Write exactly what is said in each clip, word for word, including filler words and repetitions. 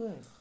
צורך.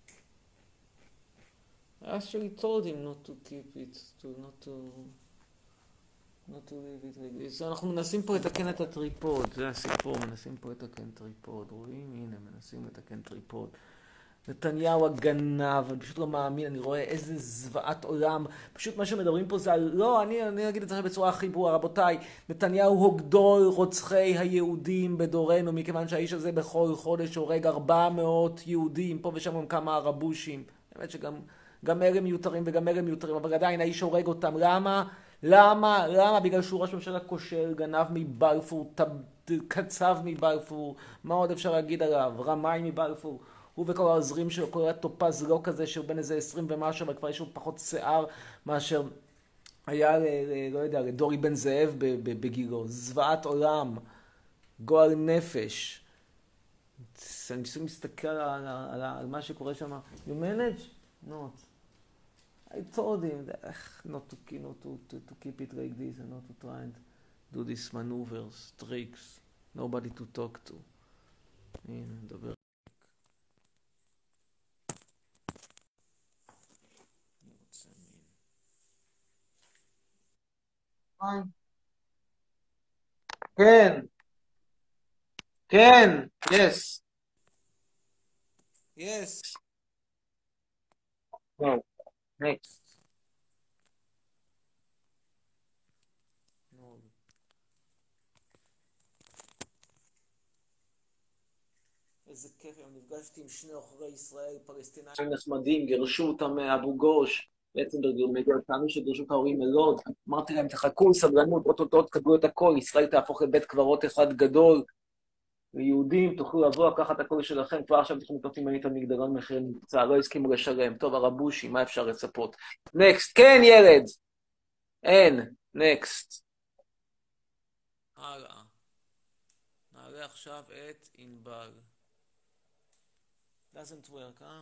I actually told him not to keep it, to not to... not to leave it like this. אנחנו מנסים פה לתקן את הטריפוד, זה הסיפור, מנסים פה לתקן טריפוד. רואים? הנה, מנסים לתקן טריפוד. נתניהו הגנב, אני פשוט לא מאמין, אני רואה איזה זוועת עולם. פשוט מה שמדברים פה זה על... לא, אני, אני אגיד את זה בצורה הכי ברורה, רבותיי. נתניהו הוא גדול רוצחי היהודים בדורנו, מכיוון שהאיש הזה בכל חודש הורג ארבע מאות יהודים, פה ושם גם כמה ערבושים. באמת שגם גם אלה מיותרים וגם אלה מיותרים, אבל עדיין האיש הורג אותם. למה? למה? למה? בגלל שהוא ראש ממשלה כושל, גנב מבלפור, קצב מבלפור, מה עוד אפשר להגיד עליו? רמאי מבלפור. הוא וכל העוזרים שלו, כל הטופז לא כזה שהוא בין איזה עשרים ומשהו, אבל כבר יש לו פחות שיער מאשר היה, לא יודע, לדורי בן זאב בגילו. זוועת עולם, גועל נפש. אני פשוט מסתכל על, על, על מה שקורה שם. You manage? Not. I told him that, not, to, not to, to, to keep it like this and not to try and do these maneuvers, tricks. Nobody to talk to. הנה, נדבר. כן, כן, yes. Yes. No, next. No. איזה כיף, אני נפגשתי עם שני עוכרי ישראל, פלסטינאים נחמדים, גירשו אותם מאבו גוש, בעצם טענו שגירשו את ההורים מלוד, אמרתי להם, תחכו, סבלנות, אוטוטו תקבלו את הכל, ישראל תהפוך לבית קברות אחד גדול, ויהודים תוכלו לבוא, לקחת הכל שלכם, כבר עכשיו תוכלו לקנות עם הנית המגדרון מחיר נמצא, לא הסכימו לשלם, טוב, הרבושי, מה אפשר לצפות? נקסט, כן ילד! אין, נקסט. הלאה. נעלה עכשיו את ענבל. doesn't work, huh?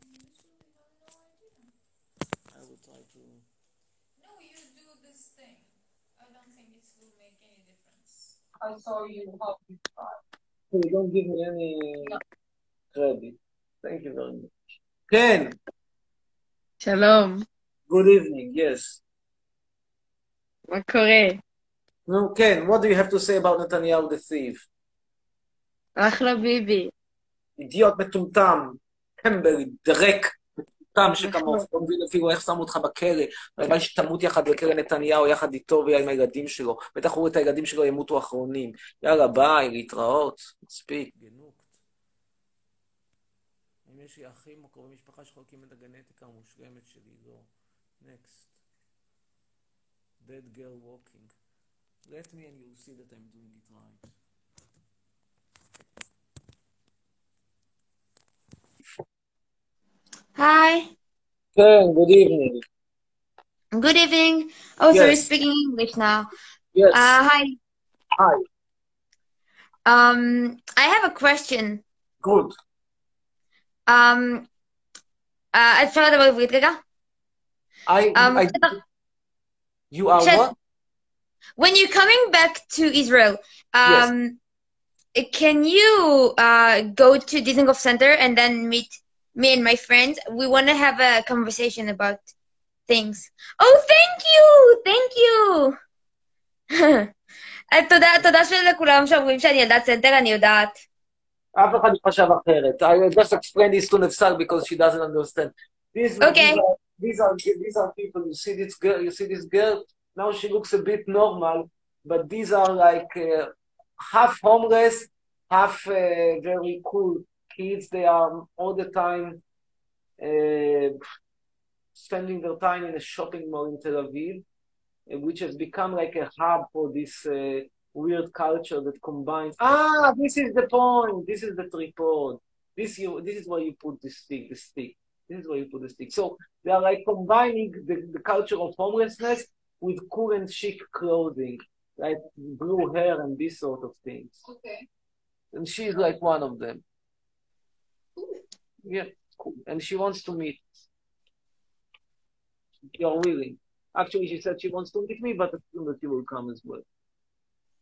I will try to... No, you do this thing. I don't think it will make any difference. I saw you help me try. You don't give me any no. credit. Thank you very much. Ken! Shalom. Good evening, yes. מה קורה? No, Ken, what do you have to say about Netanyahu the thief? אחלה ביבי. אידיוט מטומטם, טמבל, דרק, מטומטם שכמוך, לא מבין אפילו איך שמו אותך בכלא, אבל שתמות יחד בכלא נתניהו, יחד איתו ועם הילדים שלו, בטח הוא את הילדים שלו ימותו אחרונים. יאללה, ביי, להתראות, מספיק. גנוקט. אם יש לי אחים או קרובי משפחה שחולקים את הגנטיקה המושלמת שלי, לא. Next. Dead girl walking. Let me and you'll see that I'm doing it right. Hi. Ken, good evening. Good evening. Oh, so Yes. we're speaking English now. Yes. Uh, hi. Hi. Um, I have a question. Good. Um, uh, אפשר לדבר עברית רגע? I, Um, I, you are Shed- what? When you're coming back to Israel, um, can you uh, go to Dizengoff Center and then meet me and my friends? We want to have a conversation about things. Oh, thank you! Thank you! תודה, תודה שלכולם שאומרים שאני ילדת סנטר, אני יודעת. אף אחד לא חשב אחרת. I will just explain this to Nefsal because she doesn't understand. These, Okay. These are, these are these are people. You see this girl. You see this girl. Now she looks a bit normal, but these are like uh, half homeless, half uh, very cool kids. They are all the time uh, spending their time in a shopping mall in Tel Aviv, uh, which has become like a hub for this uh, weird culture that combines. Ah, this is the point. This is the tripod. This you. This is where you put the stick. The stick. This is where you put the stick. So they are like combining the, the culture of homelessness with cool and chic clothing, like blue hair and these sort of things. Okay. And she's like one of them. Yeah, cool. And she wants to meet. You're willing. Actually, she said she wants to meet me, but assume that you will come as well.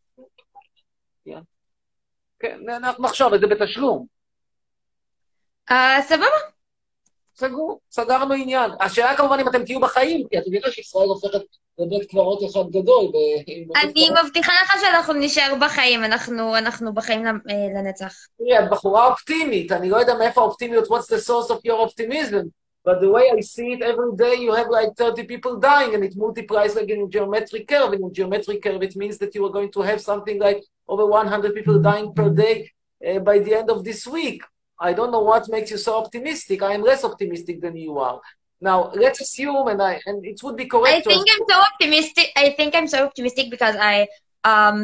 Yeah. כן, אנחנו נחשוב את זה בתשלום. אה, סבבה. סגור, סגרנו עניין. השאלה כמובן אם אתם תהיו בחיים, כי את יודעת שישראל הופכת לבית קברות אחד גדול. אני מבטיחה לך שאנחנו נשאר בחיים, אנחנו אנחנו בחיים לנצח. תראי, את בחורה אופטימית, אני לא יודע מאיפה האופטימיות, what's the source of your optimism, but the way I see it, every day you have like thirty people dying, and it multiplies like in a geometric curve. In a geometric curve, it means that you are going to have something like over one hundred people dying per day uh, by the end of this week. I don't know what makes you so optimistic. I am less optimistic than you are. Now, let's assume, and I and it would be correct. I think I'm so optimistic. I think I'm so optimistic because I um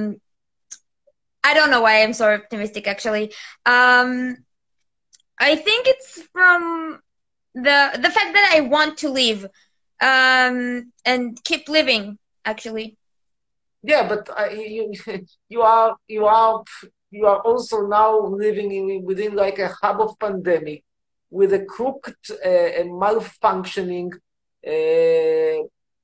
I don't know why I'm so optimistic actually. Um, I think it's from the the fact that I want to live, um, and keep living actually. Yeah, but uh, you you are you are. You are also now living in, within like a hub of pandemic with a crooked uh, and malfunctioning uh,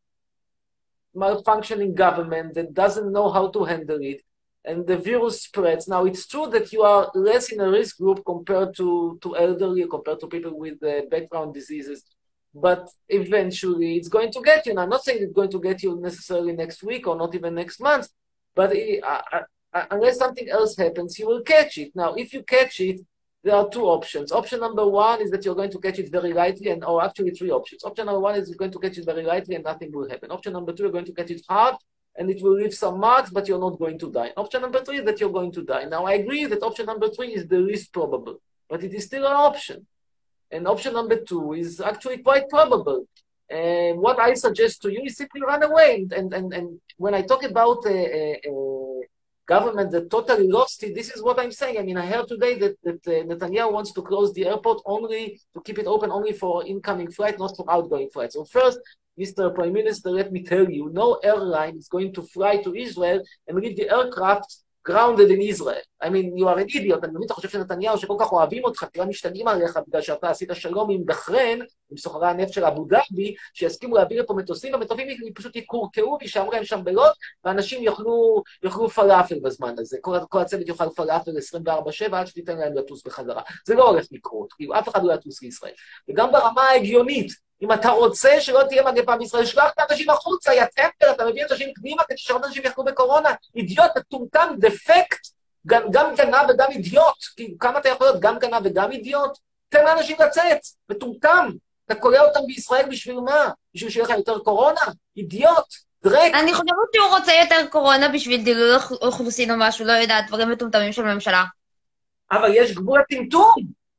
malfunctioning government that doesn't know how to handle it, and the virus spreads. Now, it's true that you are less in a risk group compared to, to elderly, compared to people with uh, background diseases, but eventually it's going to get you. Now, I'm not saying it's going to get you necessarily next week or not even next month, but it, uh, unless something else happens, you will catch it. Now, if you catch it, there are two options. Option number one is that you're going to catch it very lightly, and or actually three options. Option number one is you're going to catch it very lightly and nothing will happen. Option number two, you're going to catch it hard, and it will leave some marks, but you're not going to die. Option number three is that you're going to die. Now, I agree that option number three is the least probable, but it is still an option. And option number two is actually quite probable. And what I suggest to you is simply run away. And, and, and when I talk about uh, uh, uh, government that totally lost it, this is what I'm saying. I mean, I heard today that, that uh, Netanyahu wants to close the airport only, to keep it open only for incoming flight, not for outgoing flights. So first, Mister Prime Minister, let me tell you, no airline is going to fly to Israel and leave the aircraft grounded in Israel. I mean, you are an idiot. אני מבין, אתה חושב שנתניהו שכל כך אוהבים אותך, תראה משתגעים עליך בגלל שאתה עשית שלום עם בחריין, עם סוחרי הנפט של אבו דאבי, שיסכימו להעביר לפה מטוסים, והמטוסים פשוט יקורקעו וישארו להם שם בלוד, ואנשים יאכלו, יאכלו פלאפל בזמן הזה. כל, כל הצוות יאכל פלאפל עשרים וארבע שבע עד שתיתן להם לטוס בחזרה. זה לא הולך לקרות, כאילו אף אחד לא יטוס לישראל. וגם ברמה ההגיונית, אם אתה רוצה שלא תהיה מגפה בישראל, שלח את האנשים החוצה, יא טמפל, אתה מביא אנשים פנימה כדי שעוד אנשים יחלו בקורונה, אידיוט, מטומטם, דפקט, גם, גם גנב וגם אידיוט, כי כמה אתה יכול להיות גם גנב וגם אידיוט? תן לאנשים לצאת, מטומטם, אתה קורא אותם בישראל בשביל מה? בשביל שיהיה לך יותר קורונה? אידיוט, דרק. אני חושבת שהוא רוצה יותר קורונה בשביל דילול אוכלוסין או משהו, לא יודעת, דברים מטומטמים של הממשלה. אבל יש גבול לטמטום.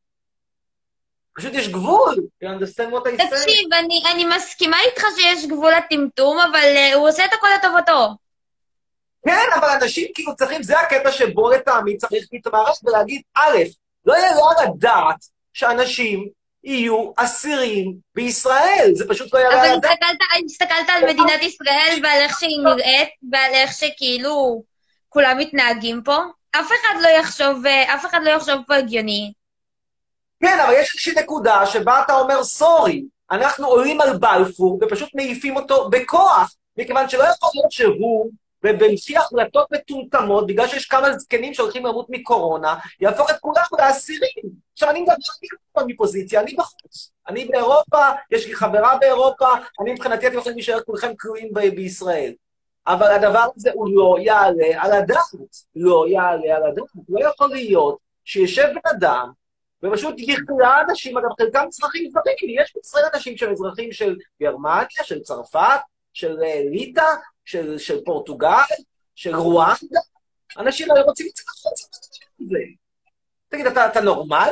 פשוט יש גבול, you understand what I say? תקשיב, אני, אני מסכימה איתך שיש גבול לטמטום, אבל uh, הוא עושה את הכל לטובתו. כן, אבל אנשים כאילו צריכים, זה הקטע שבו לטעמי צריך להתמרש ולהגיד, א', לא יהיה לא לדעת שאנשים יהיו אסירים בישראל, זה פשוט לא יהיה אבל לדעת. אבל הסתכלת על מדינת ישראל ועל איך שהיא נראית, ועל איך שכאילו כולם מתנהגים פה, אף אחד לא יחשוב, אף אחד לא יחשוב פה הגיוני. כן, אבל יש איזושהי נקודה שבה אתה אומר, סורי, אנחנו עולים על בלפור ופשוט מעיפים אותו בכוח, מכיוון שלא יכול להיות שהוא, ובלפי החלטות מטומטמות, בגלל שיש כמה זקנים שהולכים למות מקורונה, יהפוך את כולם לאסירים. עכשיו, אני מדבר אני מפוזיציה, אני בחוץ. אני באירופה, יש לי חברה באירופה, אני מבחינתי אתם יכולים להישאר כולכם כלואים ב- בישראל. אבל הדבר הזה הוא לא יעלה על הדעת. לא יעלה על הדעת. לא יכול להיות שישב בן אדם, ופשוט יכלה אנשים, אגב, חלקם אזרחים זרים, יש בישראל אנשים שהם אזרחים של גרמניה, של צרפת, של ליטא, של, של פורטוגל, של רואנדה, אנשים לא רוצים לצאת לחוץ. תגיד, אתה, אתה נורמלי?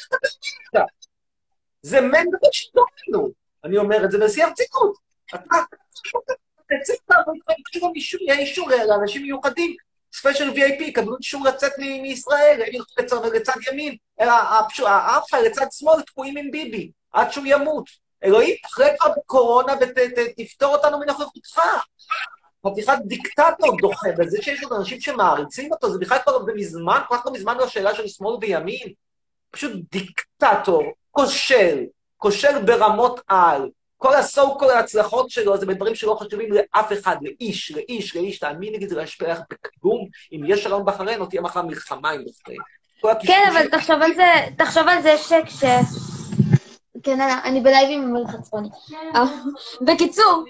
זה מן דבר שדורנו. אני אומר את זה בשיא הרצינות. אתה תצא אישור, יהיה אישור לאנשים מיוחדים, ספיישל וי איי פי, קבלו אישור לצאת מישראל, ילכו לצד ימין, העם שלך לצד שמאל תקועים עם ביבי, עד שהוא ימות. אלוהים, אחרי כבר בקורונה ותפתור אותנו מנוכחותך. חתיכת דיקטטור דוחה, וזה שיש עוד אנשים שמעריצים אותו, זה בכלל כבר במזמן, כל כך לא מזמן לשאלה של שמאל וימין. פשוט דיקטטור, כושל, כושל ברמות על. כל הסו, כל ההצלחות שלו, זה בדברים שלא חשובים לאף אחד, לאיש, לאיש, לאיש, תאמין לי, זה לא ישפיע לך בכלום, אם יש שלום בחריין, או תהיה מחר מלחמה עם בחריין. כן, אבל תחשוב על זה, תחשוב על זה שכש... כן, אני בלייב עם מלך הצפוני. בקיצור,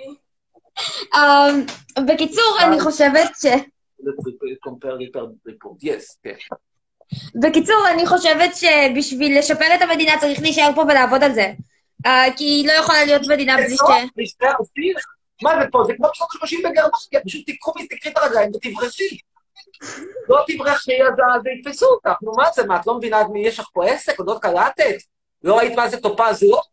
בקיצור, אני חושבת ש... בקיצור, אני חושבת שבשביל לשפר את המדינה צריך להישאר פה ולעבוד על זה. כי היא לא יכולה להיות מדינה בלי ש... מה זה פה? זה כמו בשנות שלושים בגרמניה, פשוט תיקחו ותקחי את הרגליים ותברחי. לא תברחי, אז יתפסו אותך. נו מה זה, מה, את לא מבינה מי יש לך פה עסק, עוד עוד קלטת? לא ראית מה זה טופז לא?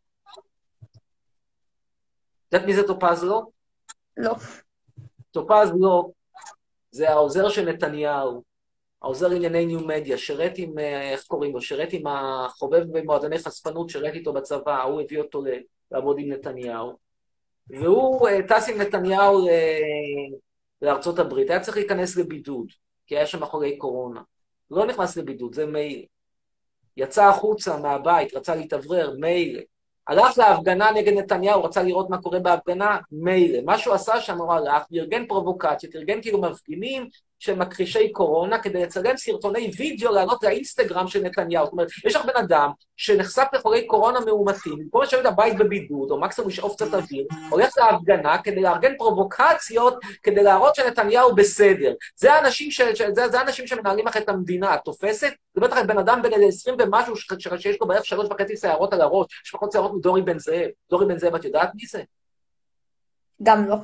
יודעת מי זה טופז לא? לא. טופז לא, זה העוזר של נתניהו, העוזר ענייני ניו מדיה, שרת עם, איך קוראים לו, שרת עם החובב במועדוני חשפנות, שרת איתו בצבא, הוא הביא אותו לעבוד עם נתניהו. והוא טס עם נתניהו לארצות הברית, היה צריך להיכנס לבידוד, כי היה שם אחרי קורונה. לא נכנס לבידוד, זה מייל. יצא החוצה מהבית, רצה להתאוורר, מייל. הלך להפגנה נגד נתניהו, רצה לראות מה קורה בהפגנה, מייל. מה שהוא עשה שם, הוא הלך, ארגן פרובוקציות, ארגן כאילו מפגינים של מכחישי קורונה, כדי לצלם סרטוני וידאו לעלות לאינסטגרם של נתניהו. זאת אומרת, יש לך בן אדם שנחשף לחולי קורונה מאומתים, במקום לשבת הבית בבידוד, או מקסימום לשאוף קצת אוויר, הולך להפגנה כדי לארגן פרובוקציות, כדי להראות שנתניהו בסדר. זה האנשים, ש... זה, זה האנשים שמנהלים לך את המדינה. את תופסת? זה בטח בן אדם בין עשרים ומשהו ש... שיש לו בערך שלוש וחצי שערות על הראש, יש פחות שערות מדורי בן זאב. דורי בן זאב, את יודעת מי זה? גם לא.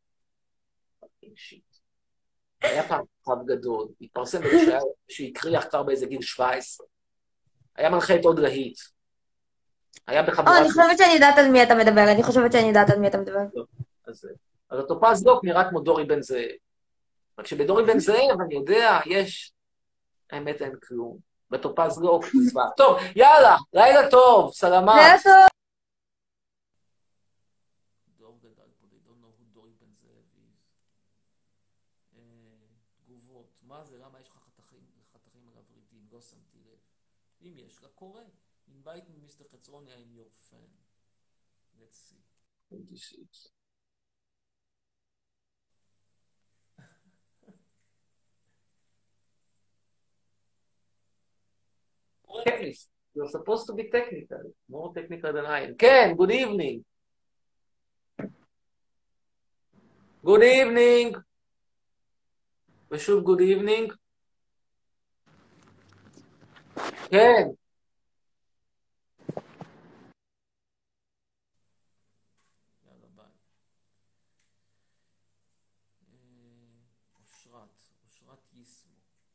היה פעם כוכב גדול, התפרסם בזה שהקריח כבר באיזה גיל שבע עשרה. היה מנחה את עוד להיט. היה בחבורת... אני חושבת שאני יודעת על מי אתה מדבר, אני חושבת שאני יודעת על מי אתה מדבר. אז הטופז דוק נראה כמו דורי בן זאב. רק שבדורי בן זאב, אני יודע, יש... האמת אין כלום. בטופז דוק, צבא. טוב, יאללה, לילה טוב, סלמת. לילה טוב. מה זה? למה יש לך חתכים, חתכים על הורידים? לא שמתי לב. אם יש לה, קורה. invite me, מיסטר חצרוני, I'm your fan. Let's see. twenty-six. Technical. You're supposed to be technical. More technical than I am. Ken, good evening. Good evening. ושוב, good evening. כן. יאללה, ביי. אושרת, אושרת יסמו.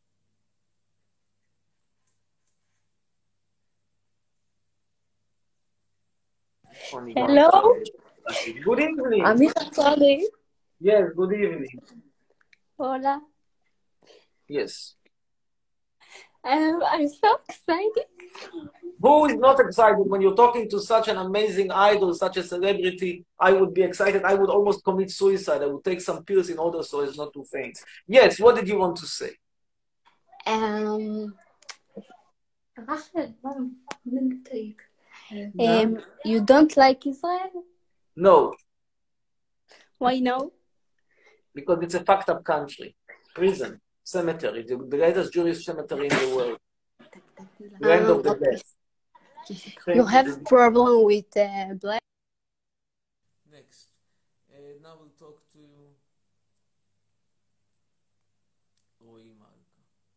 Hello. Good evening. אמיר חצרוני. Yes, good evening. Hola. Yes. Um, I'm so excited. Who is not excited when you're talking to such an amazing idol, such a celebrity? I would be excited. I would almost commit suicide. I would take some pills in order so as not to faint. Yes, what did you want to say? Um, um, you don't like Israel? No, Why no? because it's a fucked up country. Prison, cemetery, the greatest Jewish cemetery in the world. Land of the dead. You have problem with uh, black? Next. Uh, now we'll talk to רועי מלכה.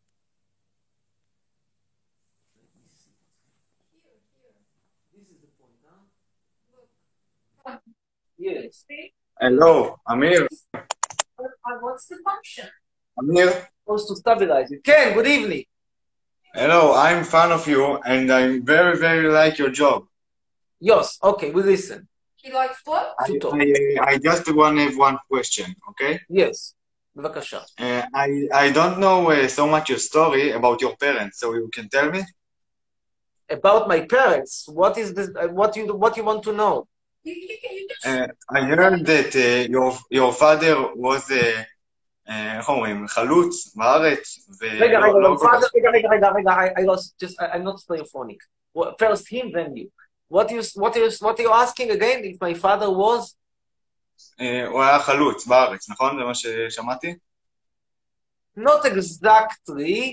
Let me see. Here, here. This is the point, huh? Look. Yes. Hello, Amir. What's the function? Amir. Supposed to stabilize it. Ken, good evening. Hello, I'm fan of you and I very, very like your job. Yes, okay, we listen. He likes what? I, I, I just want to have one question, okay? Yes, בבקשה. Uh, I, I don't know uh, so much your story about your parents, so you can tell me? About my parents, what is this, uh, what you what you want to know? You, you, can- you just... Uh, I heard that uh, your, your father was a, uh, איך אומרים, חלוץ בארץ, רגע, רגע, ולא לא, לא כל כך... רגע, רגע, רגע, רגע, I, I lost, just, I, I'm not stereophonic. Well, first him, then you. What you, what you, what you asking again? If my father was? Uh, הוא היה חלוץ בארץ, נכון? זה מה ששמעתי? Not exactly,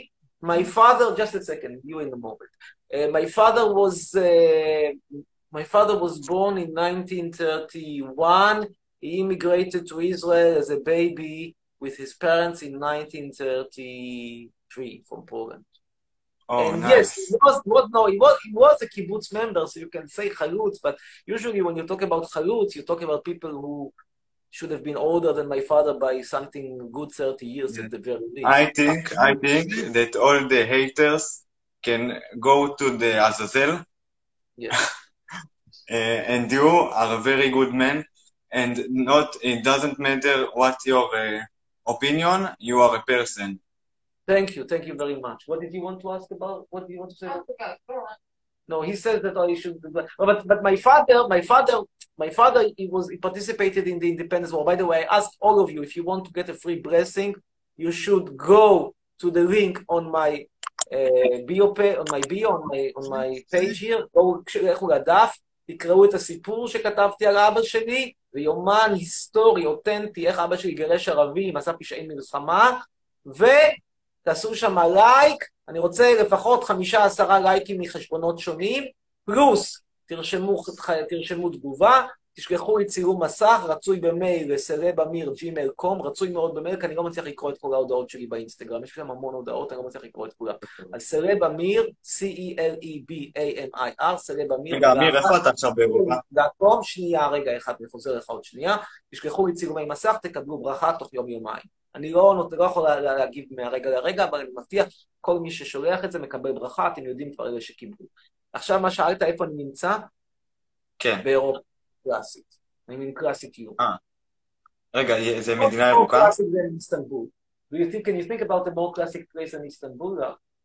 My father, just a second, you in a moment. Uh, my father was uh, my father was born in nineteen thirty-one. He immigrated to Israel as a baby with his parents in nineteen thirty-three from Poland. Oh, And nice. yes, he was, was no, he was, he was a kibbutz member, so you can say chalutz, but usually when you talk about chalutz, you talk about people who should have been older than my father by something good thirty years at the very least. I think, I think that all the haters can go to the Azazel, Yes. uh, and you are a very good man, and not, it doesn't matter what your uh, opinion, you are a person. Thank you, thank you very much. What did you want to ask about? What do you want to say? I forgot. Go on. No, he says that I should. But but my father, my father, my father, he was he participated in the independence war. By the way, I ask all of you, if you want to get a free blessing, you should go to the link on my uh, bio page, on my bio, on my on my page here. go לכו לדף, תקראו את הסיפור שכתבתי על אבא שלי, ויומן היסטורי, אותנטי, איך אבא שלי גירש ערבים, עשה פשעי מלחמה, ותעשו שם לייק. אני רוצה לפחות חמישה עשרה לייקים מחשבונות שונים, פלוס תרשמו, תרשמו תגובה, תשלחו לי צילום מסך, רצוי במייל לסלב אמיר ג'ימייל דוט קום, רצוי מאוד במייל, כי אני לא מצליח לקרוא את כל ההודעות שלי באינסטגרם, יש שם המון הודעות, אני לא מצליח לקרוא את כולם. אז סלב אמיר, C-E-L-E-B-A-M-I-R, סלב אמיר, רגע, אמיר, איפה אתה עכשיו באירופה? דוט קום, שנייה, רגע אחד, אני חוזר לך עוד שנייה, תשלחו לי צילומי מסך, תקבלו ברכה תוך יום יומיים. אני לא, לא יכול להגיב מהרגע לרגע, אבל אני מבטיח, כל מי ששולח את זה מקבל ברכה, אתם יודעים כבר אלה שקיבלו. עכשיו מה שאלת, איפה אני נמצא? כן. באירופה קלאסית. אני מין קלאסית יום. אה. רגע, זה מדינה ירוקה? קלאסית זה איסטנבול. Do you think, can you think about the more classic place in Istanbul?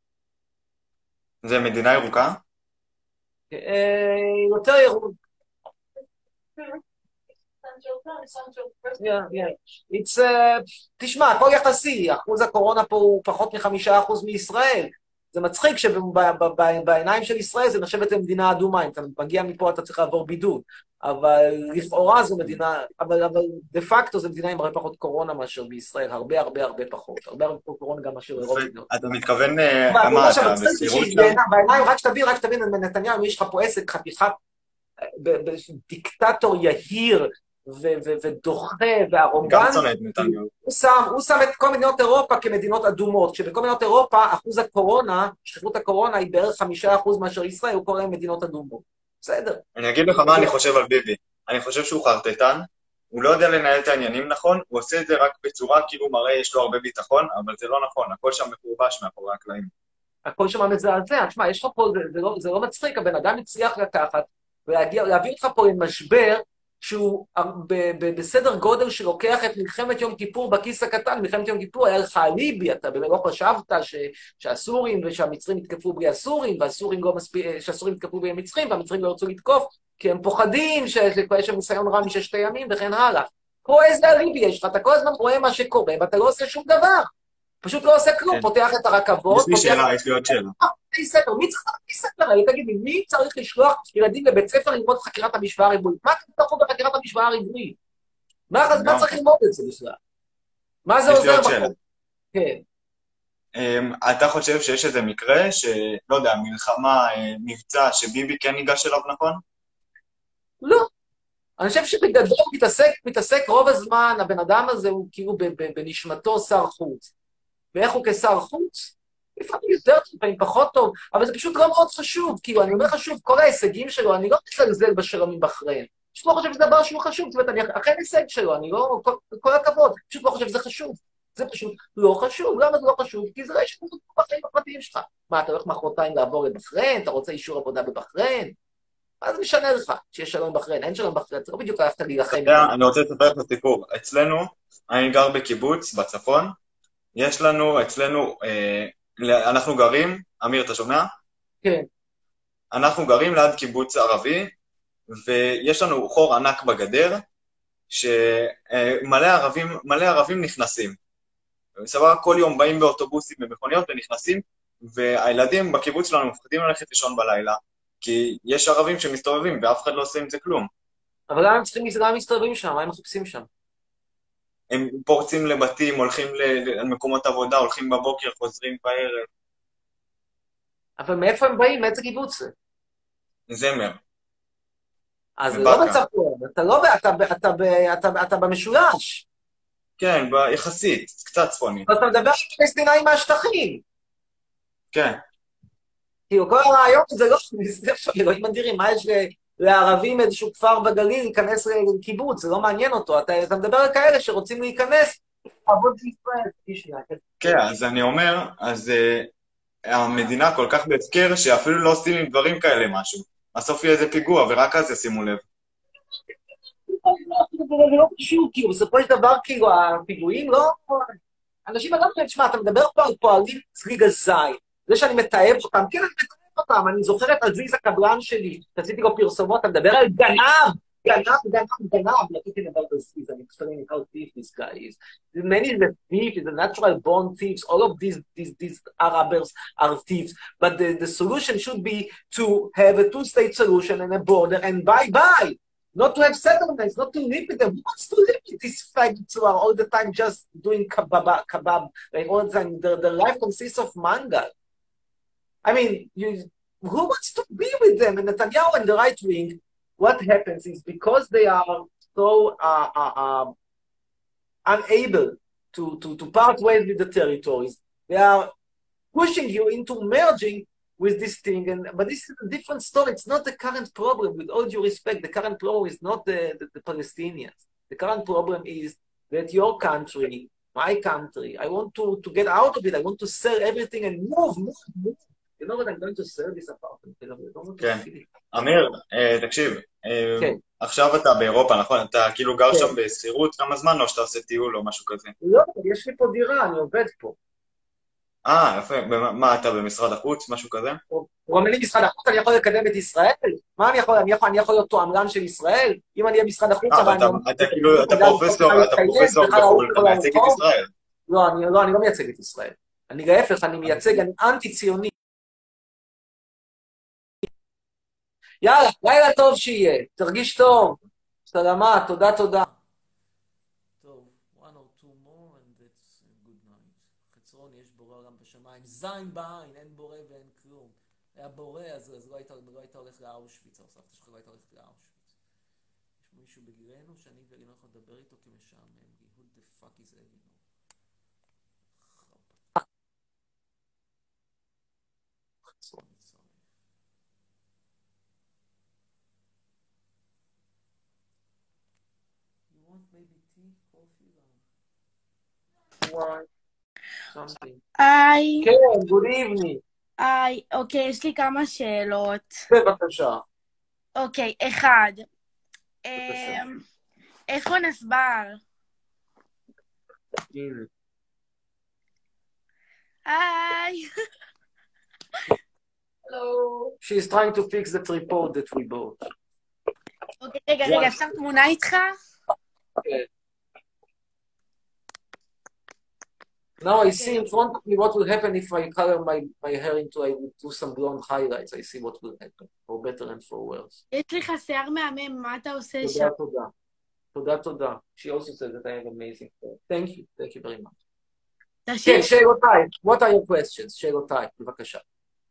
זה מדינה ירוקה? יותר ירוק. Yeah, yeah. It's, uh, תשמע, הכל יחסי, אחוז הקורונה פה הוא פחות מחמישה אחוז מישראל. זה מצחיק שבעיניים של ישראל זה נחשבת למדינה אדומה, אם אתה מגיע מפה אתה צריך לעבור בידוד, אבל לכאורה זו מדינה, אבל, אבל דה פקטו זו מדינה עם הרבה פחות קורונה מאשר בישראל, הרבה הרבה הרבה פחות, הרבה הרבה פחות קורונה גם מאשר אירופה. אתה מתכוון, מה אתה, בסירות שם? בעיניים, רק שתבין, רק שתבין, נתניהו, יש לך פה עסק, חתיכת דיקטטור יהיר, ודוחה, והרומבן, הוא שם את כל מדינות אירופה כמדינות אדומות, כשבכל מדינות אירופה אחוז הקורונה, שכיחות הקורונה היא בערך חמישה אחוז מאשר ישראל, הוא קורא להם מדינות אדומות. בסדר. אני אגיד לך מה אני חושב על ביבי. אני חושב שהוא חרטטן, הוא לא יודע לנהל את העניינים נכון, הוא עושה את זה רק בצורה כאילו מראה יש לו הרבה ביטחון, אבל זה לא נכון, הכל שם מקורבש מאחורי הקלעים. הכל שם מזעזע, תשמע, יש לך פה, זה לא מצחיק, הבן אדם הצליח לקחת, ולהביא אותך פה למשבר, שהוא בסדר גודל שלוקח את מלחמת יום כיפור בכיס הקטן, מלחמת יום כיפור היה לך אליבי, אתה באמת לא חשבת שהסורים ושהמצרים יתקפו בלי הסורים, שהסורים יתקפו בלי המצרים, והמצרים לא ירצו לתקוף, כי הם פוחדים שיש שם ניסיון רע מששת הימים וכן הלאה. פה איזה אליבי יש לך, אתה כל הזמן רואה מה שקורה, ואתה לא עושה שום דבר. פשוט לא עושה כלום, פותח את הרכבות. יש לי שאלה, יש לי עוד שאלה. ספר, מי צריך להביא ספר? תגיד לי, מי צריך לשלוח ילדים לבית ספר ללמוד חקירת המשוואה הריבועית? מה אתם תלכו בחקירת המשוואה הריבועית? מה צריך ללמוד את זה בכלל? מה זה עוזר בחוק? כן. אתה חושב שיש איזה מקרה שלא יודע, מלחמה, מבצע, שביבי כן ניגש אליו נכון? לא. אני חושב שבגדול מתעסק, מתעסק רוב הזמן, הבן אדם הזה הוא כאילו בנשמתו שר חוץ. ואיך הוא כשר חוץ? לפעמים יותר, לפעמים פחות טוב, אבל זה פשוט לא מאוד חשוב, כאילו, אני אומר לך שוב, כל ההישגים שלו, אני לא מזלזל בשלום עם בחריין, פשוט לא חושב שזה דבר שהוא חשוב, זאת אומרת, אני אחרי הישג שלו, אני לא, כל, כל הכבוד, פשוט לא חושב שזה חשוב, זה פשוט לא חשוב, למה זה לא חשוב? כי זה לא יש לנו בחיים הפרטיים שלך. מה, אתה הולך מחרתיים לעבור לבחריין, אתה רוצה אישור עבודה בבחריין? מה זה משנה לך שיש שלום בחריין? אין שלום בחריין, זה לא בדיוק הלכת להילחם. אני רוצה לספר לך סיפור, אצלנו, אני גר בקיבוץ, בצפון, יש לנו, אצלנו, אנחנו גרים, אמיר, אתה שומע? כן. אנחנו גרים ליד קיבוץ ערבי, ויש לנו חור ענק בגדר, שמלא ערבים, מלא ערבים נכנסים. סבבה, כל יום באים באוטובוסים במכוניות ונכנסים, והילדים בקיבוץ שלנו מפחדים ללכת לישון בלילה, כי יש ערבים שמסתובבים, ואף אחד לא עושה עם זה כלום. אבל למה הם צריכים מסתובבים שם? מה הם מחפשים שם? הם פורצים לבתים, הולכים למקומות עבודה, הולכים בבוקר, חוזרים בערב. אבל מאיפה הם באים? מאיזה קיבוץ זה? זמר. אז זה מבאקה. לא בצפון, אתה לא, ב- אתה, ב- אתה, ב- אתה, אתה במשולש. כן, ב- יחסית, קצת צפוני. אז אתה מדבר על פלסטינאים מהשטחים. כן. כאילו, כל הרעיון זה לא, זה עכשיו, אלוהים אדירים, מה יש ל- לערבים איזשהו כפר בגליל להיכנס לקיבוץ, זה לא מעניין אותו. אתה, אתה מדבר על כאלה שרוצים להיכנס, לעבוד בישראל. תשמע, כן, אז אני אומר, אז uh, המדינה כל כך בהפקר שאפילו לא עושים עם דברים כאלה משהו. בסוף יהיה איזה פיגוע, ורק אז ישימו לב. זה לא קשור, כאילו, בסופו של דבר, כאילו, הפיגועים לא... אנשים אדם, תשמע, אתה מדבר פה על פועלים ליגה זין, זה שאני מתאב אותם, כן, אני מתאב אותם, אני זוכרת על ויזה קבלן שלי, שעשיתי לו פרסומות, אתה מדבר על גנב, גנב, גנב, גנב, רציתי לדבר על ויזה, אני explaining how thief this guy is. Many is a thief, is a natural born thieves, all of these, these, these Arabs are thieves, but the, the solution should be to have a two-state solution and a border, and bye-bye. Not to have settlements, not to live with them. Who wants to live with these faggots who are all the time just doing kebab, kebab, like all the time? Their, their life consists of mangal. I mean, you, who wants to be with them? And Netanyahu and the right wing, what happens is because they are so uh, uh, uh, unable to, to, to part ways with the territories, they are pushing you into merging with this thing, and but this is a different story. It's not the current problem, with all due respect. The current problem is not the, the, the Palestinians. The current problem is that your country, my country, I want to, to get out of it. I want to sell everything and move, move, move. You know what I'm going to sell this apartment? I don't want to כן. see it. אמיר, אה, תקשיב, אה, כן. עכשיו אתה באירופה, נכון? אתה כאילו גר כן. שם בשכירות כמה זמן, או שאתה עושה טיול או משהו כזה? לא, יש לי פה דירה, אני עובד פה. אה, יפה. במה- מה, אתה במשרד החוץ, משהו כזה? הוא אומר לי משרד החוץ, אני יכול לקדם את ישראל? מה אני יכול, אני יכול, אני יכול להיות תועמלן של ישראל? אם אני אהיה משרד החוץ, אה, אבל אבל אני... אתה אתה כאילו, אתה פרופסור, אתה פרופסור בחו"ל, אתה מייצג את ישראל. לא, אני לא, אני לא מייצג את ישראל. אני להפך, אני מייצג, אני אנטי-ציוני. יאללה, לילה טוב שיהיה, תרגיש טוב. סלמה, תודה, תודה. טוב, one or two more and that's a good night. חצרון, יש בורא עולם בשמיים, זין בעין, אין בורא ואין כלום. היה בורא, אז, אז לא, היית, לא היית הולך לאושוויץ, או סבתא שלך לא היית הולך לאושוויץ. יש מישהו בגילנו שאני ואני לא יכול לדבר איתו כי משעמם לי. Who the fuck is Elino? You want maybe tea, coffee? Why? Something. היי, כן, good evening. היי, אוקיי, יש לי כמה שאלות. בבקשה. אוקיי, אחד, בבקשה. אמ, איפה נסבר? הנה. היי, Hello. She is trying to fix the tripod that we bought. אוקיי, רגע, רגע, אפשר תמונה איתך? Okay. Now I see in front of me what will happen if I color my, my hair into, I would do some blonde highlights. I see what will happen, for better and for worse. יש לך שיער מהמם, מה אתה עושה שם? תודה, תודה. תודה, תודה. She also said that I have amazing hair. Thank you, thank you very much. תשאיר, כן, שאלותיי. What are your questions? שאלותיי, בבקשה.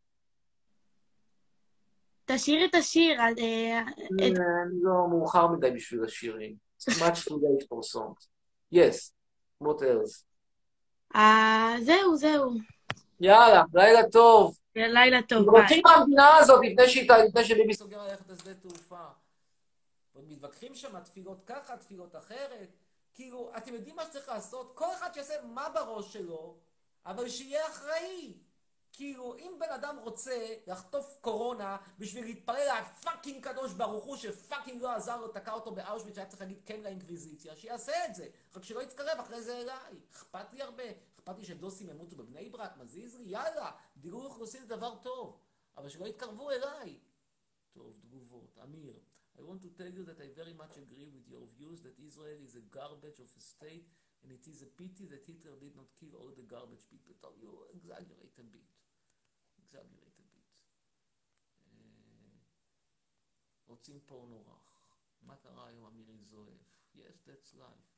תשאיר את השיר. אה, את- אני לא מאוחר מדי בשביל השירים. It's much too late for songs. Yes, what else? אה, זהו, זהו. יאללה, לילה טוב. לילה טוב, ביי. רוצים מהמדינה הזאת לפני שהיא לפני שביבי סוגר ללכת לשדה תעופה. ועוד מתווכחים שם, תפילות ככה, תפילות אחרת. כאילו, אתם יודעים מה שצריך לעשות? כל אחד שיעשה מה בראש שלו, אבל שיהיה אחראי. כאילו, אם בן אדם רוצה לחטוף קורונה בשביל להתפלל לפאקינג קדוש ברוך הוא, שפאקינג לא עזר לו, תקע אותו באושוויץ, שהיה צריך להגיד כן לאינקוויזיציה, שיעשה את זה. רק שלא יתקרב אחרי זה אליי. אכפת לי הרבה. אכפת לי שדוסים ימותו בבני ברק, מזיז לי, יאללה, דיגור אוכלוסין זה דבר טוב. אבל שלא יתקרבו אליי. טוב, תגובות. אמיר, I want to tell you that I very much agree with your views that Israel is a garbage of a state and it is a pity that Hitler did not kill all the garbage people. טוב, you exaggerate a bit. exaggerate a bit. אה, רוצים פורנו רך. מה קרה היום אמירי זואף? Yes, that's life.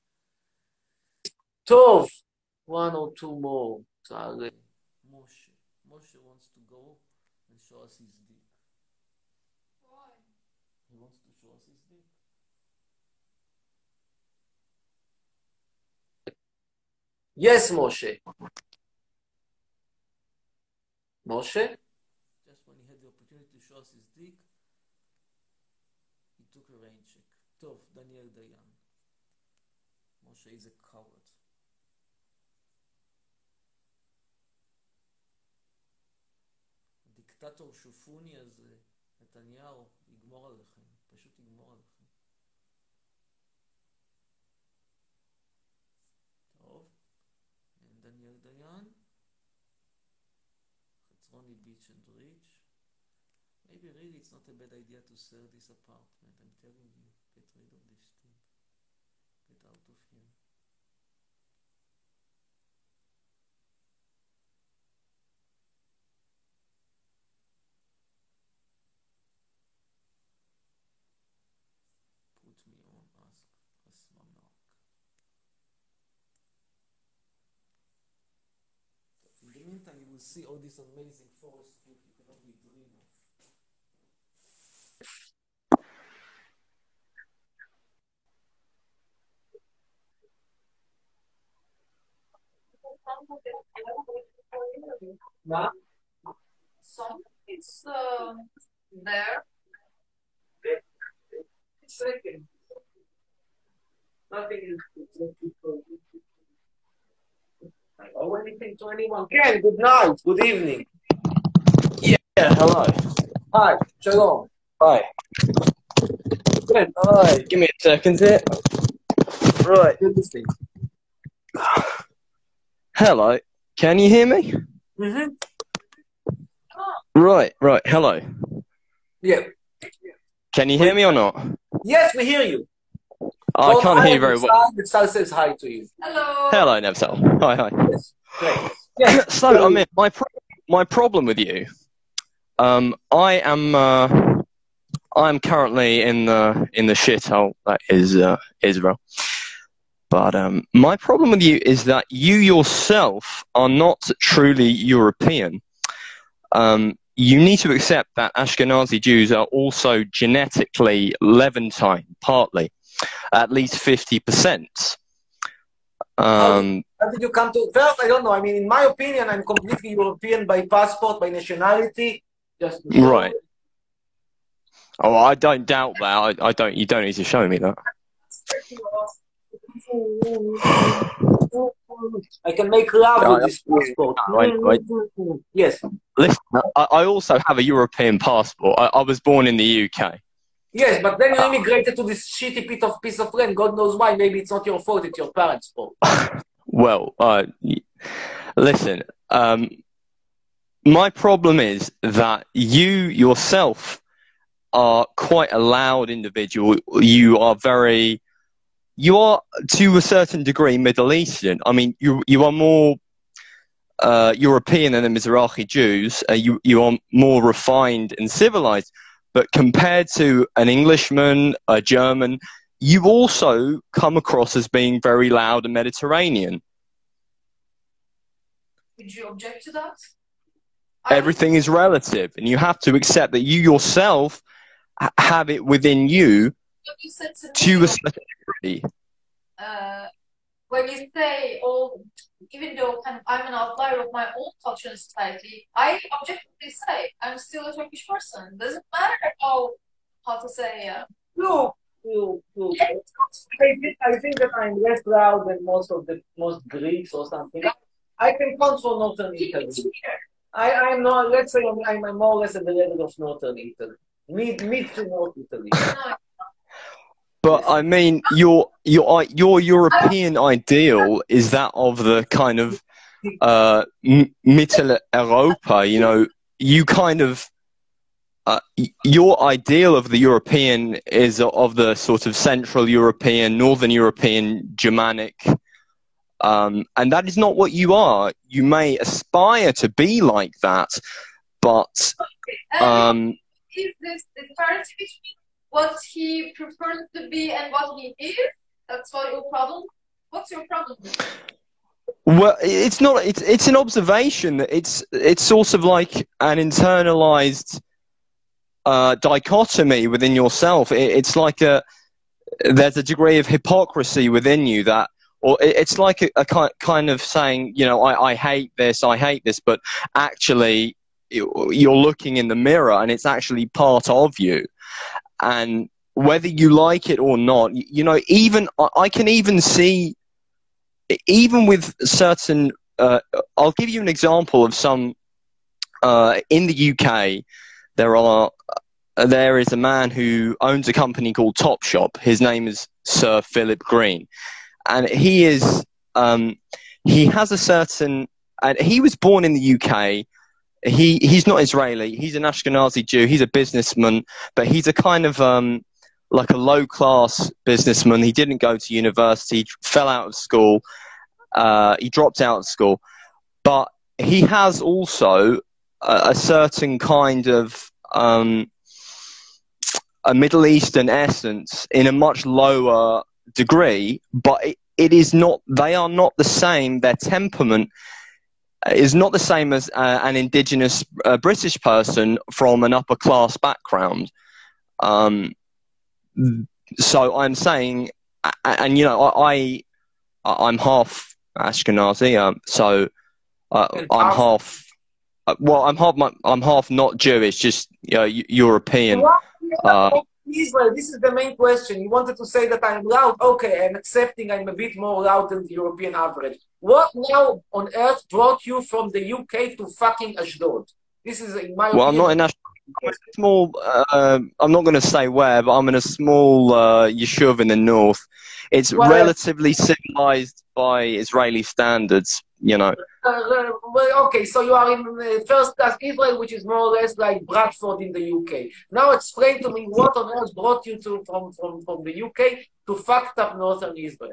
טוב. One or two more. תעלה. משה. משה wants to go and show us his dick. Why? He wants to show us his dick. Yes, Moshe. Moshe? Just when he had the opportunity to show us his dick, he took a rain check. Tov, Daniel Dayan. Moshe is a coward. הדיקטטור שופוני הזה, נתניהו, יגמור עליכם. פשוט יגמור עליכם. טוב. דניאל דיין. חצרוני ביץ' and rich. Maybe really it's not a bad idea to sell this apartment. I'm telling you. Get rid of this thing. Get out of here. Put me on, ask Asmanak. In the meantime, you will see all this amazing forest book you can only dream of. Ma? Some is uh, there. Second. Nothing is. I owe anything to anyone. Ken, good night. Good evening. Yeah, hello. Hi. Shalom. Hi. Ken. Hi. Give me a second here. Right. Good listening. Hello. Can you hear me? Mm-hmm. Right, right. Hello. Yeah. Can you hear me or not? Yes, we hear you. I Don't can't hi, hear you very well. Sal says hi to you. Hello. Hello, Nevsal. Hi, hi. Yes. Great. Yes. So, I mean, my pro my problem with you, um, I am, uh, I'm currently in the in the shithole that is uh, Israel. But um, my problem with you is that you yourself are not truly European. Um, you need to accept that Ashkenazi Jews are also genetically Levantine, partly, at least fifty percent. Um, How did you come to? First, I don't know. I mean, in my opinion, I'm completely European by passport, by nationality. Just right. Oh, I don't doubt that. I, I don't. You don't need to show me that. I can make love I, with this passport. Wait, wait. Yes. Listen, I, I also have a European passport. I, I was born in the U K. Yes, but then you immigrated to this shitty bit of piece of land. God knows why. Maybe it's not your fault. It's your parents' fault. Well, uh, listen. Um, my problem is that you yourself are quite a loud individual. You are very. You are, to a certain degree, Middle Eastern. I mean, you you are more uh, European than the Mizrahi Jews. Uh, you you are more refined and civilized. But compared to an Englishman, a German, you also come across as being very loud and Mediterranean. Would you object to that? Everything is relative, and you have to accept that you yourself ha have it within you. You said to, to me, a certain degree. Uh, when you say, oh, even though kind of I'm an outlier of my own culture and society, I objectively say I'm still a Turkish person. Doesn't matter how, how to say. Uh, Look, look, look. I think, I think that I'm less loud than most of the most Greeks or something. I can count for Northern Italy. I, I'm not. Let's say I'm, I'm more or less at the level of Northern Italy, mid mid to North Italy. no, But I mean, your your your European ideal is that of the kind of uh, Mitteleuropa. You know, you kind of uh, your ideal of the European is of the sort of Central European, Northern European, Germanic, um, and that is not what you are. You may aspire to be like that, but um, is this disparity between what he prefers to be and what he is? That's what your problem? What's your problem? Well, it's not. It's it's an observation. It's it's sort of like an internalized uh, dichotomy within yourself. It, it's like a there's a degree of hypocrisy within you that, or it, it's like a, a kind kind of saying, you know, I, I hate this, I hate this, but actually you're looking in the mirror and it's actually part of you, and whether you like it or not, you, you know, even I can even see. Even with certain, uh, I'll give you an example of some, uh, in the U K, there are, uh, there is a man who owns a company called Topshop. His name is Sir Philip Green. And he is, um, he has a certain, and he was born in the U K. He, he's not Israeli. He's an Ashkenazi Jew. He's a businessman, but he's a kind of, um, like a low-class businessman. He didn't go to university, fell out of school. Uh, he dropped out of school. But he has also a, a certain kind of um, a Middle Eastern essence in a much lower degree, but it, it is not, they are not the same. Their temperament is not the same as uh, an indigenous uh, British person from an upper-class background. Um, So I'm saying, and you know, I, I I'm half Ashkenazi, um, so uh, I'm half. Uh, well, I'm half. I'm half not Jewish, just you know, European. Uh, Israel, this is the main question. You wanted to say that I'm loud. Okay, I'm accepting I'm a bit more loud than the European average. What now on earth brought you from the U K to fucking Ashdod? This is, in my well, opinion. I'm not in Ashdod. I'm in a small, uh, I'm not going to say where, but I'm in a small uh, yeshuv in the north. It's well, relatively civilized by Israeli standards, you know. Uh, well, okay, so you are in uh, first class Israel, which is more or less like Bradford in the U K. Now explain to me what on earth brought you to from, from, from the U K to fucked up northern Israel.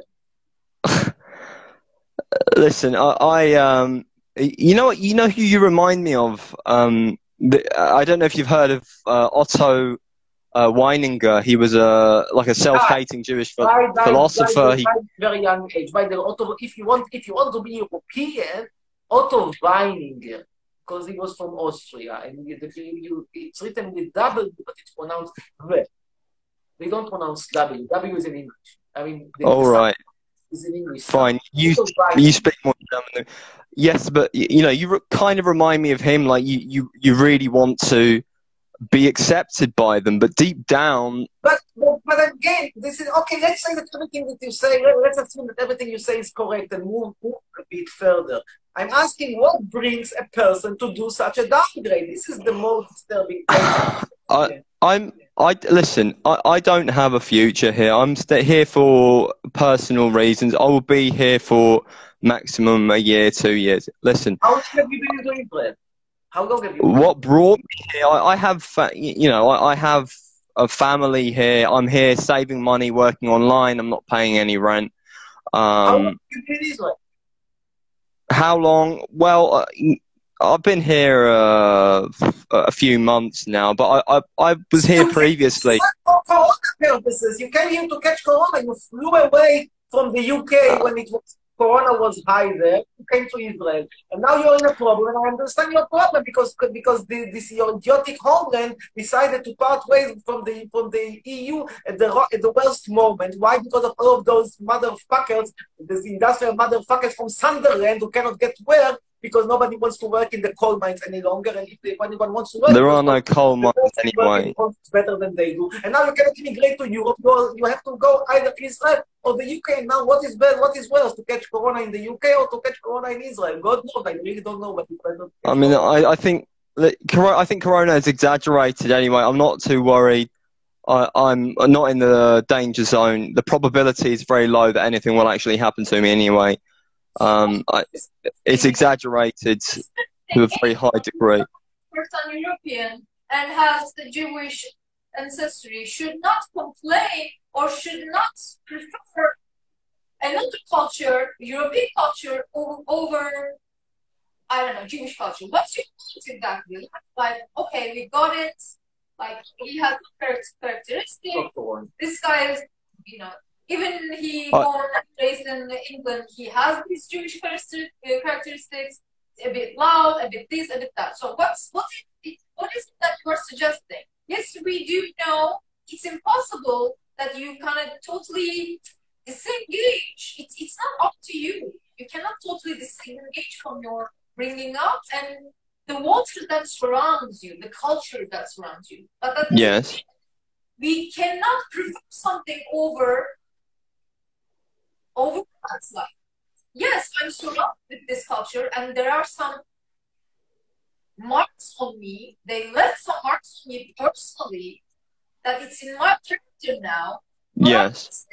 Listen, I, I um, you know what, you know who you remind me of? Um, The, I don't know if you've heard of uh, Otto uh, Weininger. He was a like a self-hating Jewish ph by, by, philosopher. By, he... by very young age. By the Otto, if you want, if you want to be European, Otto Weininger, because he was from Austria, and you, you, it's written with W, but it's pronounced V. They don't pronounce W. W is in English. I mean, the, all the right, is in English. fine. You you speak more German. Yes, but you know, you kind of remind me of him. Like you, you, you really want to be accepted by them, but deep down. But, but, but again, this is okay. Let's say that everything that you say. Let, let's assume that everything you say is correct and move, move a bit further. I'm asking, what brings a person to do such a downgrade? This is the most disturbing thing. I, I'm. I listen. I, I don't have a future here. I'm st here for personal reasons. I will be here for maximum a year, two years. Listen. How long have you been doing Israel? How long have you been? What brought me here? I, I have, you know, I, I have a family here. I'm here saving money, working online. I'm not paying any rent. Um, how long have you been in Israel? How long? Well, uh, I've been here uh, a few months now, but I I, I was here previously. For corona purposes, you came here to catch corona. You flew away from the U K when it was corona was high there. You came to Israel, and now you're in a problem. And I understand your problem because because the, this your idiotic homeland decided to part ways from the from the E U at the at the worst moment. Why? Because of all of those motherfuckers, these industrial motherfuckers from Sunderland who cannot get work because nobody wants to work in the coal mines any longer. And if, they, if anyone wants to work, there are no coal mines anyway. Better than they do. And now you cannot immigrate to Europe. You, you have to go either Israel or the U K. Now, what is bad? What is worse, to catch corona in the U K or to catch corona in Israel? God knows. I really don't know. But I mean, I, I think I think corona is exaggerated anyway. I'm not too worried. I, I'm not in the danger zone. The probability is very low that anything will actually happen to me anyway. Um, I, it's exaggerated to a very high degree. Person European and has the Jewish ancestry should not complain or should not prefer another culture, European culture, over, I don't know, Jewish culture. What's your point exactly? Like, okay, we got it. Like, he has characteristics. This guy is, you know, even he I- born and raised in England, he has these Jewish character- uh, characteristics, a bit loud, a bit this, a bit that. So what's what is it, what is it that you are suggesting? Yes, we do know it's impossible that you kind of totally disengage. It's it's not up to you. You cannot totally disengage from your bringing up and the water that surrounds you, the culture that surrounds you. But that doesn't yes. mean we cannot prefer something over over that's like. Yes, I'm surrounded with this culture, and there are some marks on me. They left some marks on me personally that it's in my character now. But Yes.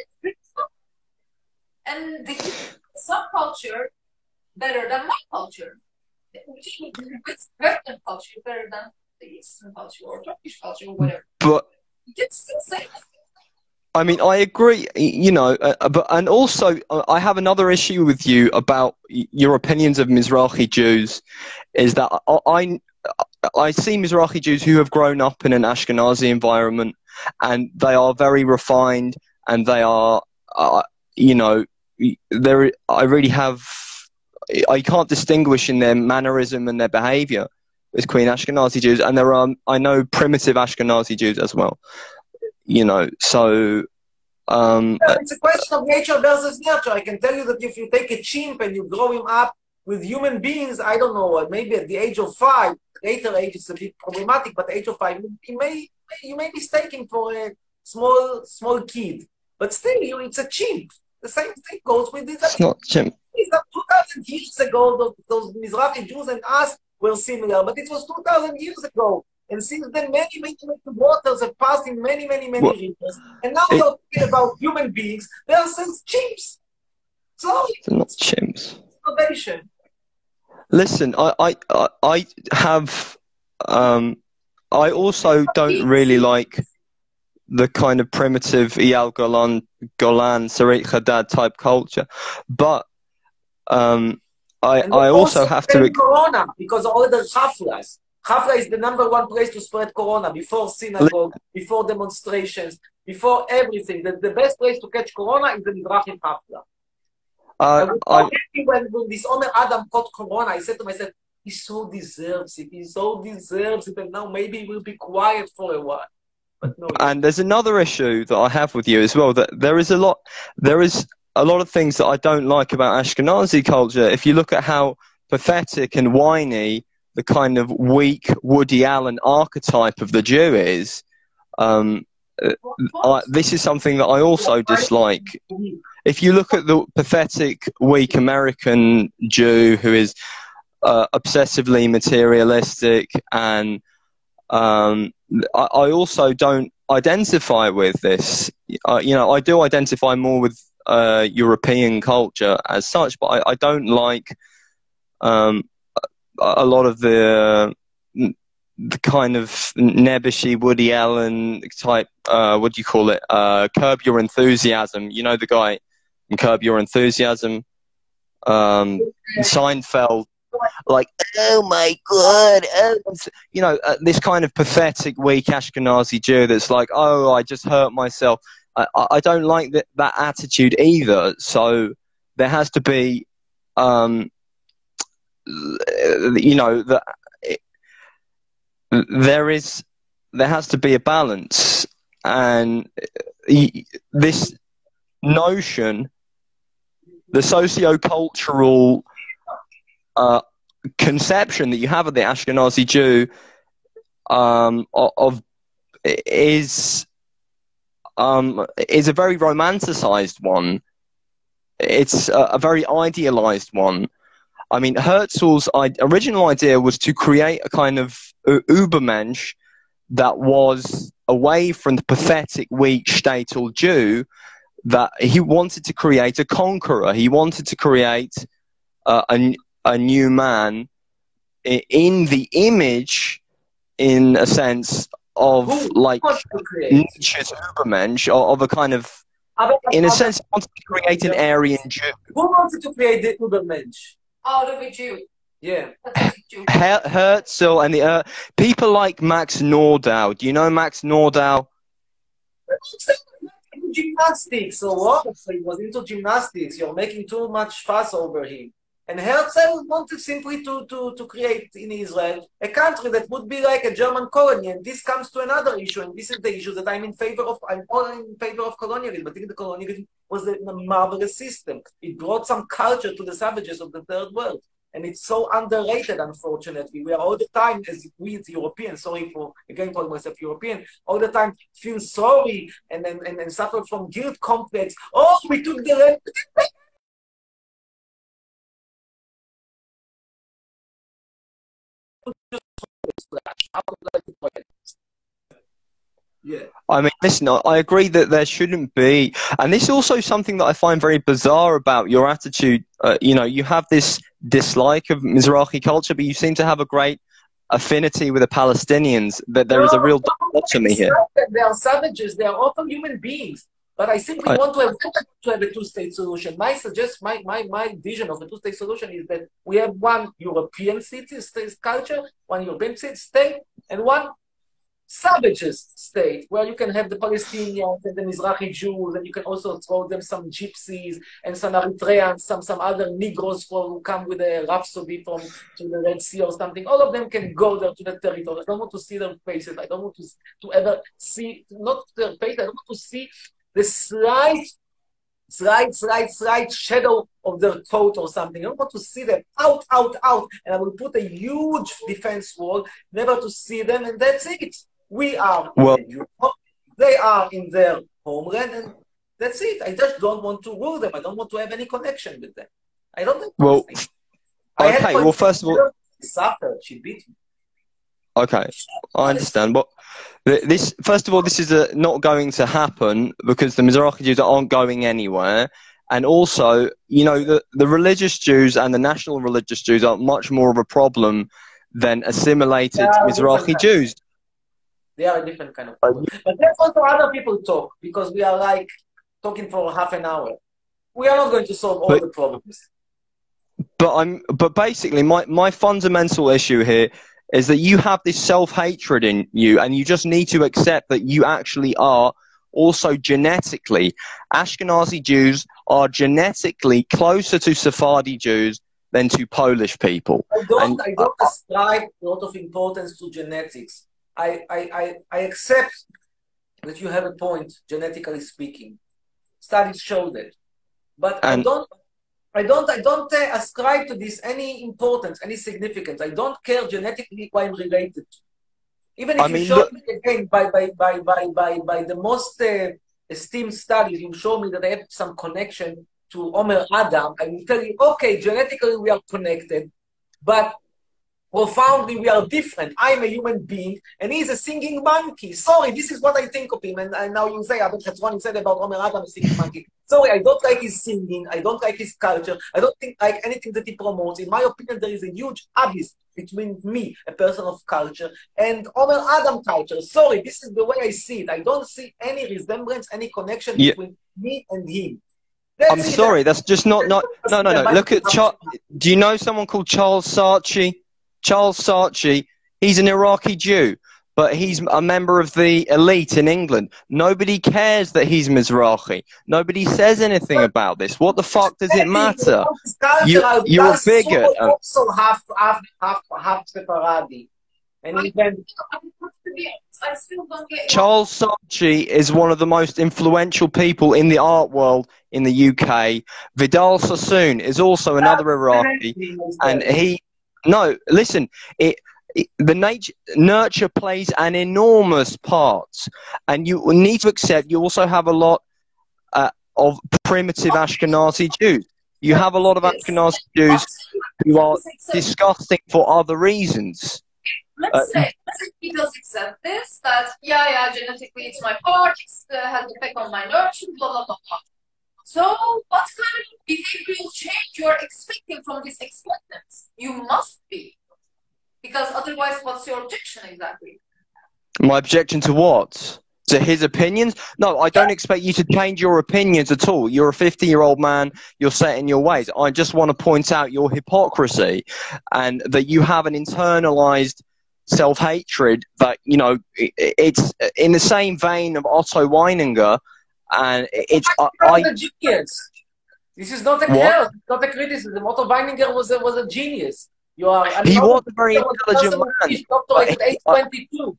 and the subculture better than my culture. It's Western culture better than the Eastern culture or Turkish culture or whatever. But You can still say that. I mean, I agree, you know, uh, but and also uh, I have another issue with you about y- your opinions of Mizrahi Jews, is that I, I I see Mizrahi Jews who have grown up in an Ashkenazi environment, and they are very refined, and they are, uh, you know, there. I really have, I can't distinguish in their mannerism and their behaviour as Queen Ashkenazi Jews, and there are, I know, primitive Ashkenazi Jews as well. You know, so um, It's a question of nature versus nurture. I can tell you that if you take a chimp and you grow him up with human beings, I don't know, maybe at the age of five, later age is a bit problematic, but at the age of five, you may you may mistake him for a small small kid. But still, you, it's a chimp. The same thing goes with this. it's not Jim. It's not two thousand years ago, those, those Mizrahi Jews and us were similar, but it was two thousand years ago. And since then, many, many, many waters have passed in many, many, many Well, rivers. And now it- you're talking about human beings versus chimps. So They're not chimps. innovation. Listen, I, I, I I have, um, I also don't really like the kind of primitive Eyal Golan, Golan, Sarit Hadad type culture, but um, I, And I also have to. blame Corona because all the Haflas. Hafla is the number one place to spread Corona before synagogue, before demonstrations, before everything. The, the best place to catch Corona is the Mizrahi Hafla. I Uh, was so I, happy when, when this Omer Adam caught Corona. I said to myself, he so deserves it. He so deserves it. And now maybe he will be quiet for a while. But no, and there's another issue that I have with you as well. That there is a lot, there is a lot of things that I don't like about Ashkenazi culture. If you look at how pathetic and whiny the kind of weak Woody Allen archetype of the Jew is, um, I, this is something that I also dislike. If you look at the pathetic, weak American Jew who is uh, obsessively materialistic, and um, I, I also don't identify with this. Uh, you know, I do identify more with uh, European culture as such, but I, I don't like um, a lot of the the kind of nebbishy Woody Allen type, uh, what do you call it, uh, Curb Your Enthusiasm. You know the guy in Curb Your Enthusiasm? Um, Seinfeld. Like, oh my God, oh. You know, uh, this kind of pathetic, weak Ashkenazi Jew that's like, oh, I just hurt myself. I, I don't like that, that attitude either. So there has to be, um, you know, the, there is, there has to be a balance, and this notion, the socio-cultural uh, conception that you have of the Ashkenazi Jew, um, of, of is um, is a very romanticized one. It's a, a very idealized one. I mean, Herzl's original idea was to create a kind of Übermensch that was away from the pathetic, weak Shtetl Jew, that he wanted to create a conqueror. He wanted to create uh, a, a new man in the image, in a sense, of Who like wants to create? Nietzsche's Übermensch, or of a kind of, in a sense, he wanted to create an Aryan Jew. Who wanted to create the Übermensch? Out of a Jew. Yeah. That's a Jew. Her- Herzl and the uh, people like Max Nordau. Do you know Max Nordau? gymnastics, so what? He was into gymnastics. You're making too much fuss over him. And Herzl wanted simply to, to, to create in Israel a country that would be like a German colony. And this comes to another issue, and this is the issue that I'm in favor of. I'm all in favor of colonialism. I think the colonialism was a, a marvelous system. It brought some culture to the savages of the third world. And it's so underrated, unfortunately. We are all the time, as we as Europeans, sorry for, again, calling myself European, all the time feel sorry and, and, and, and suffer from guilt complex. Oh, we took the land. Yeah. I mean, listen, I agree that there shouldn't be, and this is also something that I find very bizarre about your attitude. Uh, you know, you have this dislike of Mizrahi culture, but you seem to have a great affinity with the Palestinians, that there is a real dichotomy here. They are savages, they are often human beings, but I simply I, want to have, to have a two-state solution. My suggest, my, my, my vision of a two-state solution is that we have one European city state culture, one European state, and one savages state, where you can have the Palestinians and the Mizrahi Jews, and you can also throw them some gypsies and some Eritreans, some some other Negroes who come with a rhapsody from to the Red Sea or something. All of them can go there to the territory. I don't want to see their faces. I don't want to, to ever see, not their faces, I don't want to see the slight, slight, slight, slight shadow of their coat or something. I don't want to see them out, out, out. And I will put a huge defense wall, never to see them, and that's it. We are well, in Europe, they are in their homeland, and that's it. I just don't want to rule them. I don't want to have any connection with them. I don't think. Well, I okay. Well, first of all, suffered. She beat me. Okay, I understand. But this, first of all, this is a, not going to happen because the Mizrahi Jews aren't going anywhere. And also, you know, the, the religious Jews and the national religious Jews are much more of a problem than assimilated yeah, Mizrahi Jews. They are a different kind of problem. But let's also other people talk, because we are like talking for half an hour. We are not going to solve all but, the problems. But I'm. But basically, my my fundamental issue here is that you have this self-hatred in you, and you just need to accept that you actually are also genetically, Ashkenazi Jews are genetically closer to Sephardi Jews than to Polish people. I don't, and, I don't ascribe a lot of importance to genetics. I, I, I, I accept that you have a point, genetically speaking. Studies show that. But and, I don't I don't, I don't uh, ascribe to this any importance, any significance. I don't care genetically who I'm related to. Even if I you mean, show look, me again by, by, by, by, by, by the most uh, esteemed studies, you show me that I have some connection to Omer Adam, I will tell you, okay, genetically we are connected, but profoundly we are different. I'm a human being, and he's a singing monkey. Sorry, this is what I think of him. And, and now you say, Abel Chatzron said about Omer Adam, a singing monkey. Sorry, I don't like his singing. I don't like his culture. I don't think like anything that he promotes. In my opinion, there is a huge abyss between me, a person of culture, and Omer Adam culture. Sorry, this is the way I see it. I don't see any resemblance, any connection yeah. between me and him. That's I'm sorry, that's just not, not, no, no, no. Look at, Char do you know someone called Charles Saatchi? Charles Saatchi, he's an Iraqi Jew, but he's a member of the elite in England. Nobody cares that he's Mizrahi. Nobody says anything about this. What the fuck does it matter? You, you're a bigot. Also half, half, half, half Sephardi. And even Charles Saatchi is one of the most influential people in the art world in the U K. Vidal Sassoon is also another Iraqi, and he. No, listen, it, it, the nature, nurture plays an enormous part, and you need to accept you also have a lot uh, of primitive Ashkenazi Jews. You have a lot of Ashkenazi Jews who are disgusting for other reasons. Let's uh, say, let's say he does accept this, that, yeah, yeah, genetically it's my part, it uh, has an effect on my nurture, blah, blah, blah, blah. So, what kind of behavioral change you are expecting from this acceptance? You must be. Because otherwise, what's your objection exactly? My objection to what? To his opinions? No, I don't expect you to change your opinions at all. You're a fifty-year-old man. You're set in your ways. I just want to point out your hypocrisy and that you have an internalized self-hatred that, you know, it's in the same vein of Otto Weininger and it's I, I I a genius. This is not a curse, it's not a criticism. Otto Weininger was a, was a genius. You are. He was a very intelligent man. Doctorate at age twenty-two.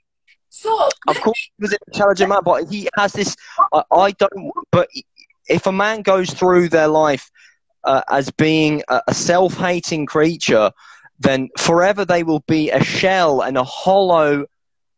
So of course, he was an intelligent man, but he has this. I, I don't. But if a man goes through their life uh, as being a, a self-hating creature, then forever they will be a shell and a hollow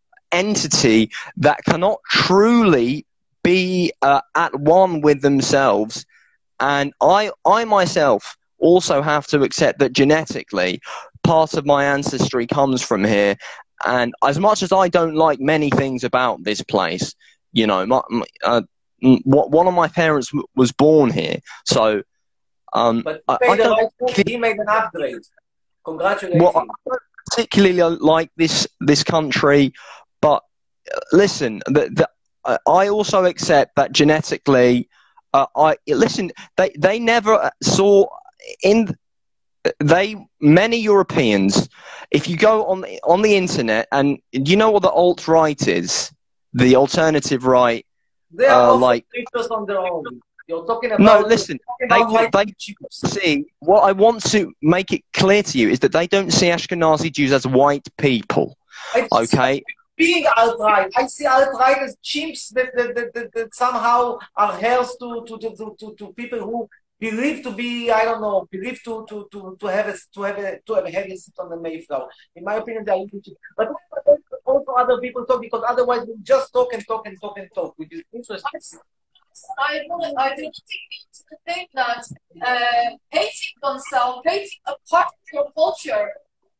entity that cannot truly be uh, at one with themselves. And I, I myself also have to accept that genetically, part of my ancestry comes from here. And as much as I don't like many things about this place, you know, my, my, uh, one of my parents w was born here. So, um, but I, he, I made don't right he made an upgrade. Congratulations. Well, I don't particularly like this this country, but listen, the, the, uh, I also accept that genetically, uh, I listen. They they never saw in. They many Europeans, if you go on the, on the internet, and you know what the alt right is, the alternative right, they are uh, like creatures on their own. You're talking about no. Listen, they about they see what I want to make it clear to you is that they don't see Ashkenazi Jews as white people. Okay. Being alt-right, I see alt-right as chimps that, that, that, that, that somehow are heirs to, to, to, to, to people who believe to be, I don't know, believe to to to to have a to have a to have a heavy seat on the Mayflower. In my opinion, they are interesting. But also other people talk, because otherwise we just talk and talk and talk and talk, which is interesting. I don't, I do not think that uh, hating oneself, hating a part of your culture,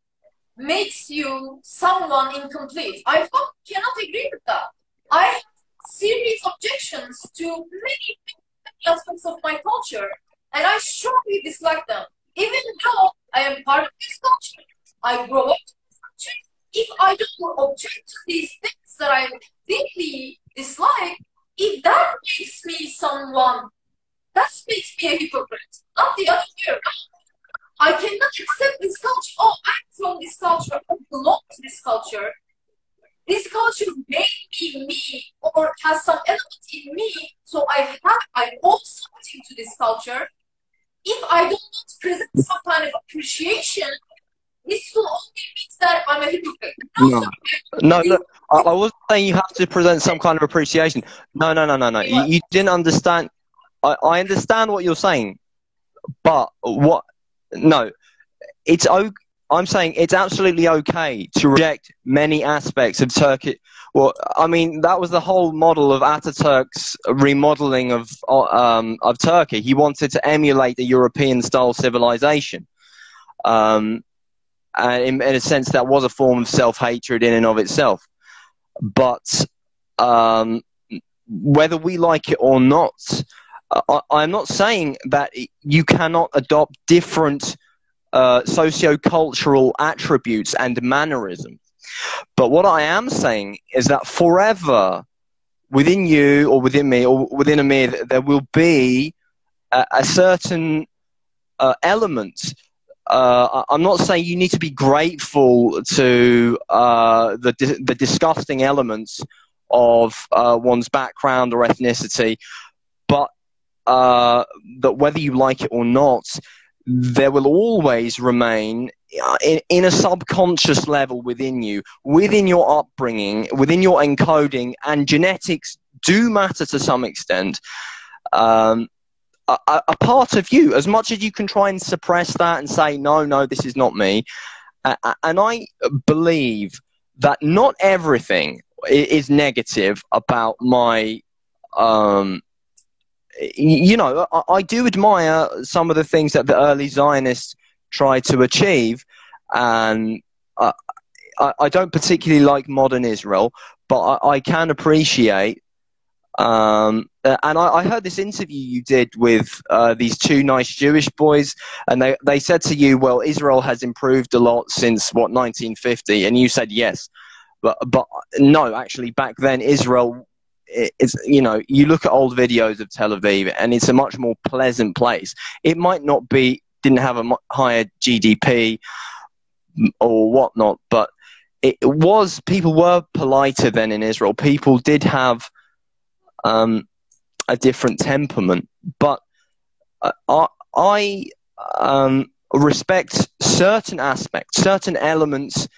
makes you someone incomplete. I cannot agree with that. I have serious objections to many, many aspects of my culture, and I strongly dislike them. Even though I am part of this culture, I grow up in this culture. If I don't object to these things that I deeply dislike, if that makes me someone, that makes me a hypocrite, not the other way around. I cannot accept this culture. Oh, I'm from this culture. I belong to this culture. This culture made me me, or has some element in me, so I have, I owe something to this culture. If I do not present some kind of appreciation, this will only mean that I'm a hypocrite. No, no, no, no. I, I wasn't saying you have to present some kind of appreciation. No, no, no, no, no. You, you didn't understand. I, I understand what you're saying, but what? No, it's okay. I'm saying it's absolutely okay to reject many aspects of Turkey. Well, I mean, that was the whole model of Ataturk's remodeling of um, of Turkey. He wanted to emulate the European-style civilization. Um, and in, in a sense, that was a form of self-hatred in and of itself. But um, whether we like it or not, I, I'm not saying that you cannot adopt different Uh, socio-cultural attributes and mannerisms. But what I am saying is that forever within you or within me or within Amir, there will be a, a certain uh, element. Uh, I'm not saying you need to be grateful to uh, the, the disgusting elements of uh, one's background or ethnicity, but uh, that whether you like it or not, there will always remain in, in a subconscious level within you, within your upbringing, within your encoding, and genetics do matter to some extent, um, a, a part of you, as much as you can try and suppress that and say, no, no, this is not me. Uh, and I believe that not everything is negative about my um, you know, I, I do admire some of the things that the early Zionists tried to achieve, and I, I, I don't particularly like modern Israel, but I, I can appreciate. Um, and I, I heard this interview you did with uh, these two nice Jewish boys, and they they said to you, "Well, Israel has improved a lot since what nineteen fifty," and you said yes, but but no, actually, back then Israel. It's, you know, you look at old videos of Tel Aviv and it's a much more pleasant place. It might not be, didn't have a higher G D P or whatnot, but it was, people were politer then in Israel. People did have, um, a different temperament. But uh, I, I um, respect certain aspects, certain elements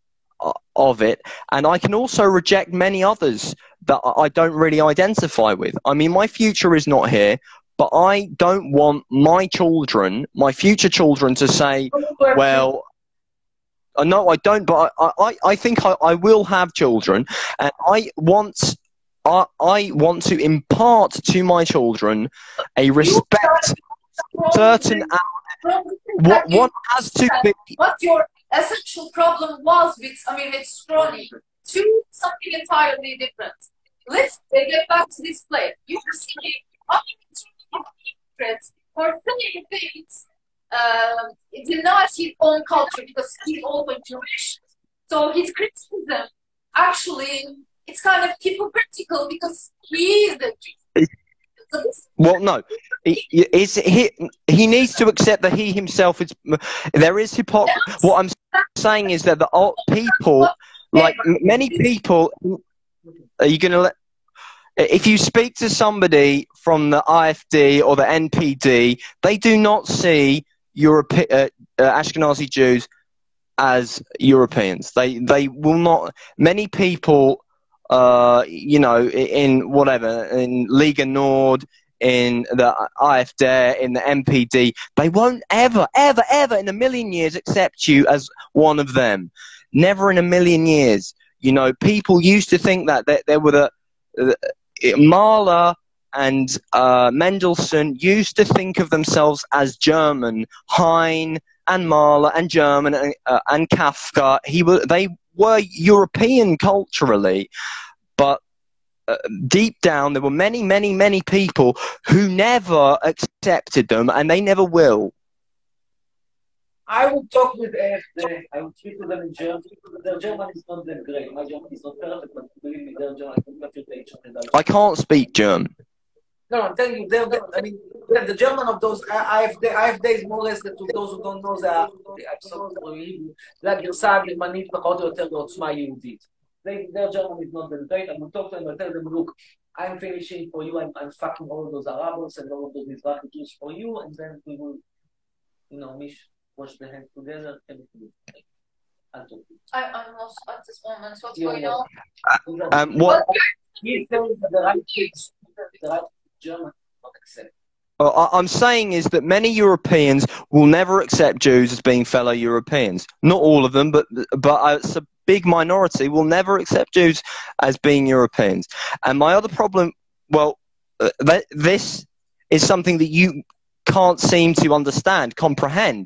of it, and I can also reject many others that I don't really identify with. I mean, my future is not here, but I don't want my children, my future children, to say, well, uh, no, I don't, but I, I, I think I, I will have children, and I want, I, I want to impart to my children a respect, certain, what, what has to be... What your essential problem was with, I mean, it's Ronnie, to something entirely different. Let's get back to this place. You were saying, I mean, it's really different for saying things. Uh, it denies his own culture because he's also Jewish. So his criticism, actually, it's kind of hypocritical because he is the Jew. So this well, no, he, is, he, he needs to accept that he himself is, there is hypocrisy. What I'm saying is that the old people, like many people, are you going to let, if you speak to somebody from the I F D or the N P D, they do not see Europe, uh, uh, Ashkenazi Jews as Europeans. They, they will not, many people, uh, you know, in whatever, in Liga Nord, in the I F D, in the N P D, they won't ever, ever, ever in a million years accept you as one of them. Never in a million years. You know, people used to think that there, there were the, the Mahler and uh, Mendelssohn used to think of themselves as German. Heine and Mahler and German and, uh, and Kafka, he were, they were European culturally, but uh, deep down there were many, many, many people who never accepted them, and they never will. I would talk with A F D. I would speak to them in German. Their German is not that great. My German is not perfect, but believe me, their German is I can't speak German. No, I'm telling you, they're, they're, I mean, the German of those I F D, I F D is more or less, to those who don't know, זה absolutely, זה הגרסה הגרמנית פחות או יותר בעוצמה יהודית. Their German is not that great. I will talk to them and tell them, look, I'm finishing for you, I'm, I'm fucking all those Arabs and all of those Mizrahi Jews for you, and then we will, you know, mish, wash the hands together, everything. I'll talk to you. I, I'm lost at this moment. What's Yeah, going yeah. on? Um, what? He's saying that the right kids, the right German not accept. Uh, I'm saying is that many Europeans will never accept Jews as being fellow Europeans. Not all of them, but but uh, it's a big minority will never accept Jews as being Europeans. And my other problem, well, uh, th this is something that you can't seem to understand, comprehend.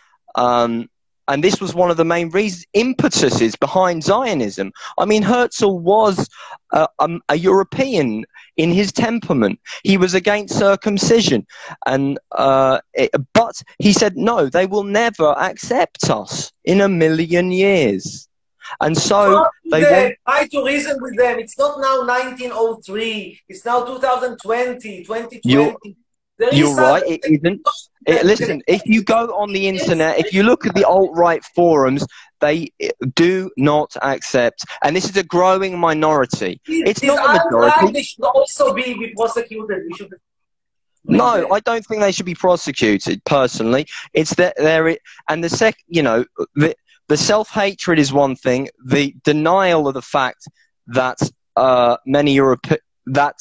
Um, and this was one of the main reasons, impetuses behind Zionism. I mean, Herzl was uh, um, a European in his temperament. He was against circumcision. and uh, it, But he said, no, they will never accept us in a million years. And so they want... Try to reason with them. It's not now nineteen oh three. It's now two thousand twenty, twenty twenty. You're, you're right, it isn't. It, listen, if you go on the internet, if you look at the alt-right forums, they do not accept, and this is a growing minority. It's These not a majority. They should also be, be prosecuted. We should. No, I don't think they should be prosecuted. Personally, it's that there, and the sec, you know, the the self-hatred is one thing. The denial of the fact that uh, many Europe that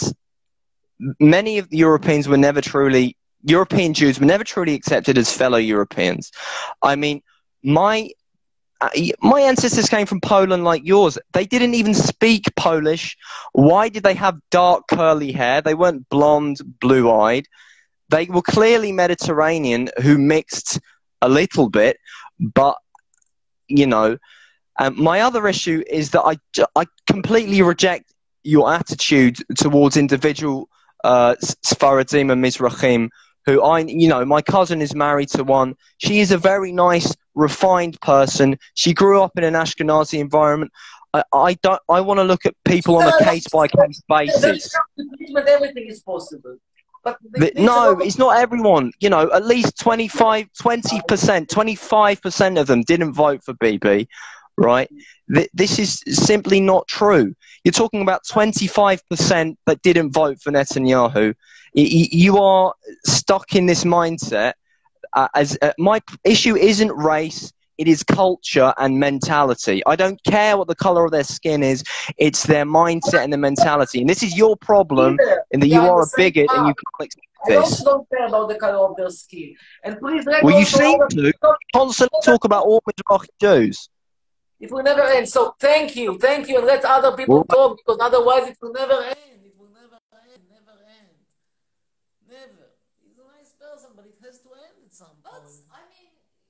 many of the Europeans were never truly. European Jews were never truly accepted as fellow Europeans. I mean, my uh, my ancestors came from Poland like yours. They didn't even speak Polish. Why did they have dark curly hair? They weren't blonde, blue-eyed. They were clearly Mediterranean who mixed a little bit. But, you know, um, my other issue is that I, I completely reject your attitude towards individual uh, Sfaradim and Mizrahim, who I, you know, my cousin is married to one. She is a very nice, refined person. She grew up in an Ashkenazi environment. I, I don't. I want to look at people on a case-by-case basis. Everything is possible. But the, no, it's not everyone. You know, at least twenty-five, twenty percent, twenty-five percent of them didn't vote for Bibi. right? Th- this is simply not true. You're talking about twenty-five percent that didn't vote for Netanyahu. Y- y- you are stuck in this mindset. Uh, as uh, my p- issue isn't race, it is culture and mentality. I don't care what the color of their skin is. It's their mindset and their mentality. And this is your problem in that We you are in are the a same bigot and you path. can't accept I also this. don't care about the color of their skin. And please let Well, you also seem other to people, constantly talk about all Mizrahi Jews. it will never end. So thank you, thank you, and let other people Well, talk, because otherwise it will never end. It will never end, never end. Never. He's a nice person, but it has to end at some But, point. I mean,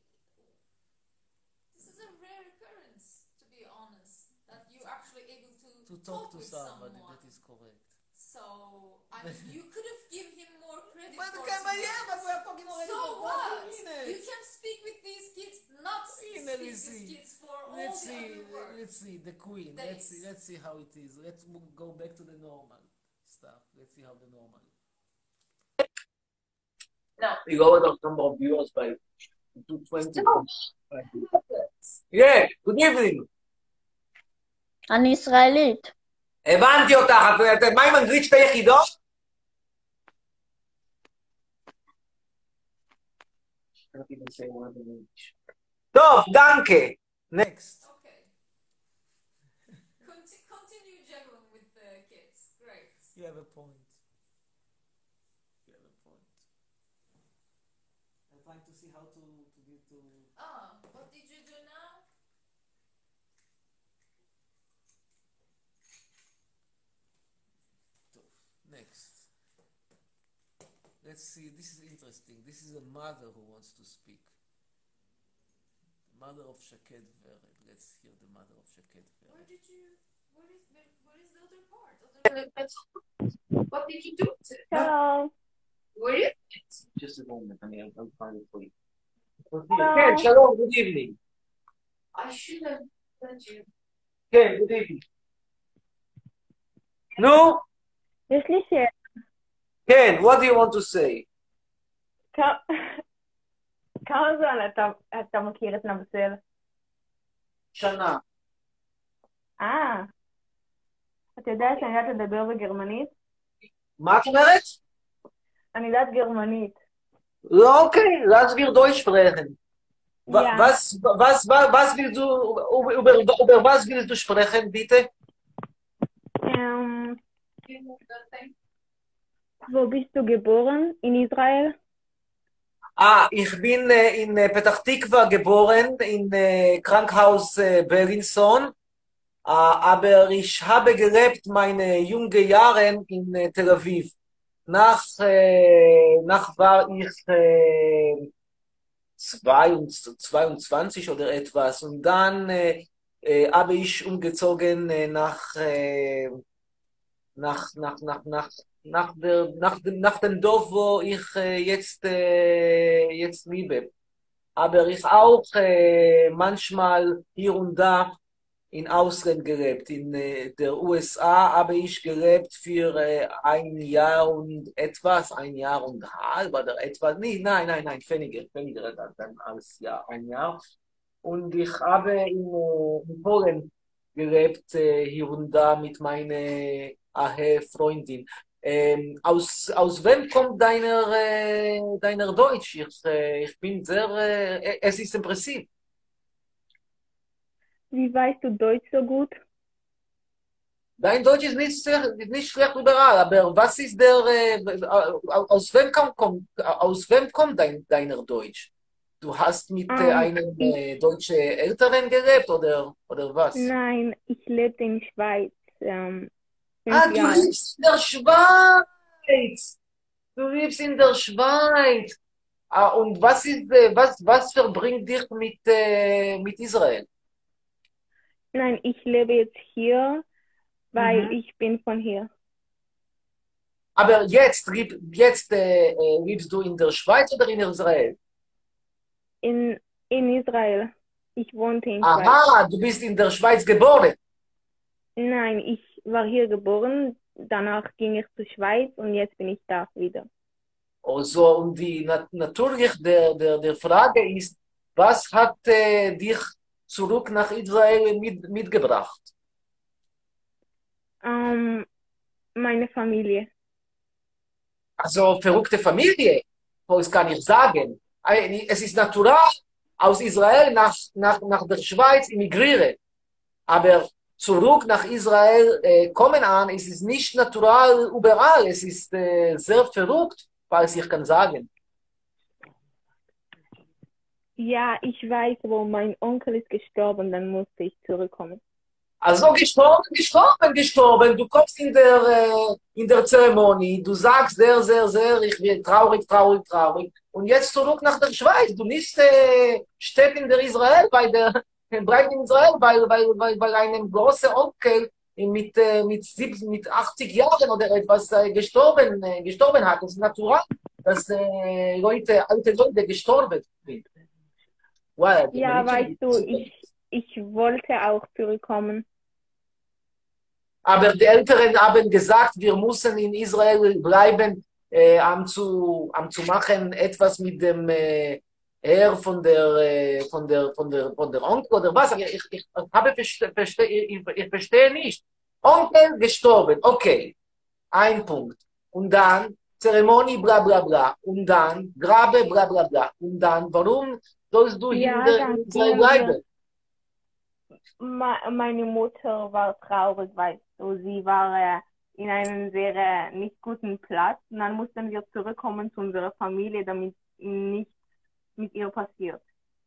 this is a rare occurrence, to be honest, that you're actually able to, To talk to with somebody, someone. that is correct. So, I mean, you could have given him more credit But for okay, but yeah, tonight. but we are talking already So for what? forty minutes. You can speak with these kids, not speak Let's with see. these kids for all Let's the see, other work. let's see, the queen. Let's see, Days. let's see how it is. Let's mo- go back to the normal stuff. Let's see how the normal. Now, we lowered our number of viewers by two twenty. Yeah, good evening. אני ישראלית. הבנתי אותך, את- את- מה עם אנגלית שתי יחידות? טוב, דנקה. Next. Okay. Conti- continue juggling with the kids. Great. You have a point. You have a point. I'm trying to see how to to get to. Ah, what did you do now? Next. Let's see. This is interesting. This is a mother who wants to speak. Mother of Shaked Vered. Let's hear the mother of Shaked Where Vered. did you? Where is where, where is the other part? Other what did you do? to it? שלום. Where is it? Just a moment. I mean, I'll find it for you. שלום. כן, שלום, good evening. I should have sent you. כן, good evening. נו, יש לי שאלה. כן, what do you want to say? כ- כמה זמן אתה, אתה מכיר את נבסל? שנה. אה, אתה יודע שאני יודעת לדבר בגרמנית? מה את אומרת? אני יודעת גרמנית. Okay, lass wir Deutsch sprechen. Wa- Ja. Was, was, was, was willst du, über, über, über was willst du sprechen, bitte? Ähm, wo bist du geboren? In Israel? Ah, ich bin äh, in äh, Petach Tikva geboren, in äh, Krankenhaus äh, Berlinson, äh, aber ich habe gelebt meine jungen Jahre in äh, Tel Aviv. Nach, äh, nach war ich äh, zweiundzwanzig oder etwas und dann äh, äh, habe ich umgezogen äh, nach, äh, nach, nach, nach, nach, nach, der, nach, dem- nach dem Dorf, wo ich äh, jetzt, äh, jetzt lebe. Aber ich auch äh, manchmal hier und da in Ausland gelebt. In äh, der U S A habe ich gelebt für äh, ein Jahr und etwas, ein Jahr und halb oder etwas. Nee, nein, nein, nein, weniger, weniger dann als Jahr, ein Jahr. Und ich habe in, äh, in Polen gelebt, äh, hier und da mit meiner Ahe Freundin. Ähm, aus, aus wem kommt deiner, äh, deiner Deutsch? Ich, äh, ich bin sehr, äh, es ist impressiv. Wie weißt du Deutsch so gut? Dein Deutsch ist nicht, sehr, nicht schlecht überall, aber was ist der, äh, aus wem kommt, kommt, aus wem kommt dein, deiner Deutsch? Du hast mit äh, Ähm, einem äh, deutschen Älteren gelebt oder, oder was? Nein, ich lebte in Schweiz. Ähm, Ah, fünf du Jahre. lebst in der Schweiz! Du lebst in der Schweiz! Ah, und was ist, äh, was, was verbringt dich mit, äh, mit Israel? Nein, ich lebe jetzt hier, weil Mhm. ich bin von hier. Aber jetzt, leb- jetzt äh, äh, lebst du in der Schweiz oder in Israel? In, in Israel. Ich wohnte in Schweiz. Aha, du bist in der Schweiz geboren. Nein, ich war hier geboren, danach ging ich zur Schweiz und jetzt bin ich da wieder. Also, und die, nat natürlich, der, der, der Frage ist, was hat äh, dich zurück nach Israel mit, mitgebracht? Ähm, meine Familie. Also verrückte Familie, das kann ich sagen. Es ist natural, aus Israel nach, nach, nach der Schweiz emigrieren. Aber zurück nach Israel äh, kommen an, es ist nicht natural überall. Es ist äh, sehr verrückt, falls ich kann sagen. Ja, ich weiß, wo mein Onkel ist gestorben, dann musste ich zurückkommen. Also gestorben, gestorben, gestorben. Du kommst in der, äh, in der Zeremonie, du sagst sehr, sehr, sehr, ich bin traurig, traurig, traurig. Und jetzt zurück nach der Schweiz. Du nicht äh, steht in der Israel, bei der, bleib in Israel, bei, bei, bei, bei einem großen Onkel mit, äh, mit, siebzig, mit achtzig Jahren oder etwas äh, gestorben, äh, gestorben hat. Das ist natural, dass äh, Leute, alte Leute gestorben sind. Well, Ja, weißt du, ich, ich wollte auch zurückkommen. Aber die Älteren haben gesagt, wir müssen in Israel bleiben, äh, um, zu, um zu machen etwas mit dem äh, Herr von der, äh, von der, von der, von der Onkel oder was. Ich, ich, ich, habe verste, verste, ich, ich verstehe nicht. Onkel gestorben, okay, ein Punkt. Und dann Zeremonie, bla bla bla. Und dann Grabe, bla bla bla. Und dann, warum sollst du Ja, hier dann in Israel gehen wir. bleiben? Ma- Meine Mutter war traurig, weißt du, sie war äh, in einem sehr äh, nicht guten Platz und dann mussten wir zurückkommen zu unserer Familie, damit nichts mit ihr passiert.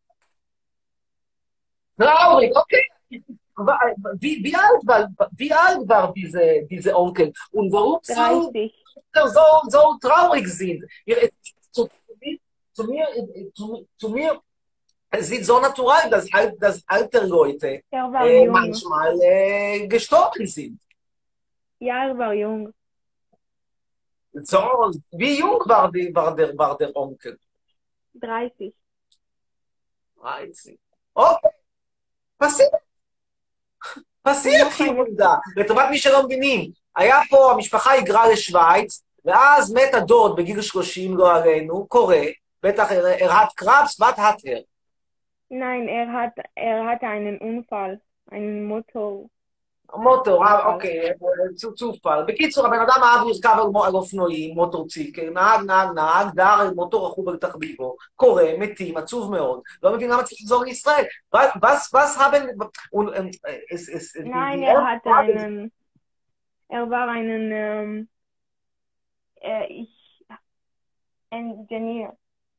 Traurig, okay. Wie, wie, alt war, wie alt war diese, diese Onkel? Und warum so, dreißig. so, so traurig sind? Ihr- Zu, zu, mir, zu, zu mir es ist so natural, dass, al- dass alte Leute Er war äh, jung. manchmal äh, gestorben sind. Ja, er war jung. So, wie jung war, die, war, der, war der Onkel? dreißig. dreißig. Okay, passiert. פסיק לא חיים. עובדה, לטובת מי שלא מבינים, היה פה, המשפחה היגרה לשוויץ, ואז מת הדוד בגיל שלושים, לא עלינו, קורא, בטח er hat Krebs, was hat er? Nein, er hat, er hatte einen Unfall, einen Motor. מוטור, אה, אוקיי, צו- צופל. בקיצור, הבן אדם אהב לרכב על מו- על אופנועים, מוטורציקל, נהג, נהג, נהג, דר, מוטור רכוב על תחביבו, קורא, מתים, עצוב מאוד, לא מבין למה צריך לחזור לישראל. was, was haben, und, ähm, es, es, die- Nein, die- er hatte einen, er war einen, ähm, äh, ich, Ingenieur.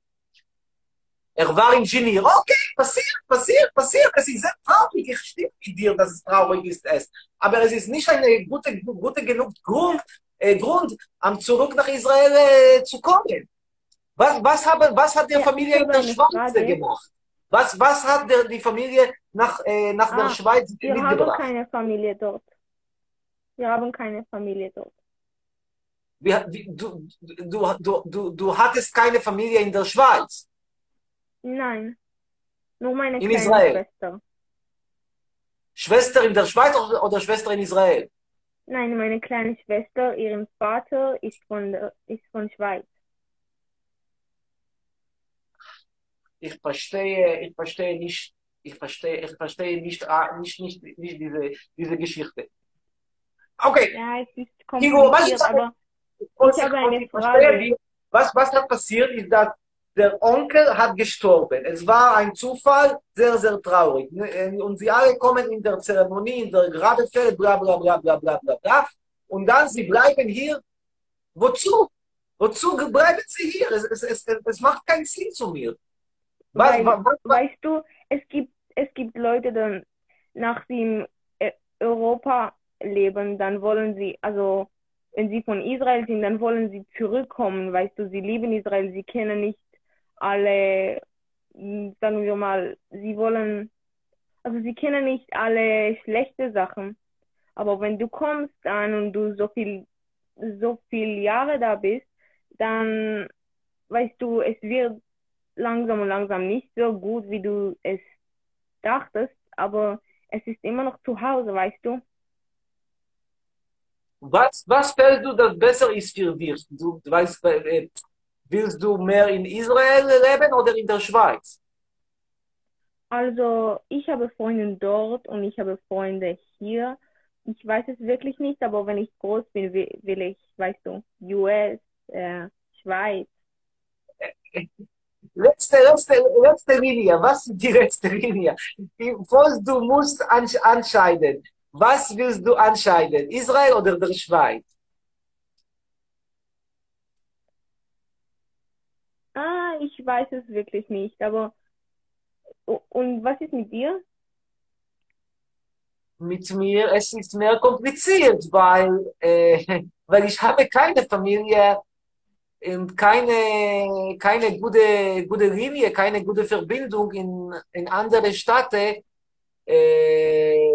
Er war Ingenieur. Okay, passiert, passiert, passiert. Es ist sehr traurig. Ich stimme mit dir, dass es traurig ist. Es. Aber es ist nicht ein gute, gute genug Grund, äh, Grund, um zurück nach Israel äh, zu kommen. Was, was, haben, was hat die Ja, Familie ich in habe der eine Schweiz Frage. gemacht? Was, was hat der, die Familie nach, äh, nach der Ah, Schweiz Wir haben mitgebracht? keine Familie dort. Wir haben keine Familie dort. Wie, wie, du, du, du, du, du hattest keine Familie in der Schweiz. Nein, nur meine In kleine Israel? Schwester. Schwester in der Schweiz oder, oder Schwester in Israel? Nein, meine kleine Schwester, ihren Vater ist von der, ist von Schweiz. Ich verstehe, ich verstehe nicht, ich verstehe, ich verstehe nicht, ah, nicht, nicht, nicht diese, diese Geschichte. Okay, Ja, es ist Ingo, was kompliziert, ist aber kurz, ich habe eine ich verstehe Frage. die- was, was hat passiert, ist, dass der Onkel hat gestorben. Es war ein Zufall, sehr, sehr traurig. Und sie alle kommen in der Zeremonie, in der Grabefeld, bla, bla, bla, bla, bla, bla, bla. Und dann sie bleiben hier. Wozu? Wozu bleiben sie hier? Es, es, es, es macht keinen Sinn zu mir. Was, Weil, was, was, weißt du, es gibt, es gibt Leute, dann nach sie in äh, Europa leben, dann wollen sie, also wenn sie von Israel sind, dann wollen sie zurückkommen, weißt du, sie lieben Israel, sie kennen nicht alle, mh, sagen wir mal, sie wollen, also sie kennen nicht alle schlechte Sachen, aber wenn du kommst an und du so viel, so viel Jahre da bist, dann, weißt du, es wird langsam und langsam nicht so gut, wie du es dachtest, aber es ist immer noch zu Hause, weißt du? was, was fällt du, das besser ist für dich? Du weißt, äh, willst du mehr in Israel leben oder in der Schweiz? Also, ich habe Freunde dort und ich habe Freunde hier. Ich weiß es wirklich nicht, aber wenn ich groß bin, will, will ich, weißt du, U S, äh, Schweiz. Letzte, letzte, letzte Linie. Was ist die letzte Linie? Was du musst entscheiden. Was willst du entscheiden? Israel oder der Schweiz? Ah, ich weiß es wirklich nicht, aber und was ist mit dir? Mit mir, es ist mehr kompliziert, weil, äh, weil ich habe keine Familie und keine, keine gute, gute Linie, keine gute Verbindung in, in andere Städte äh,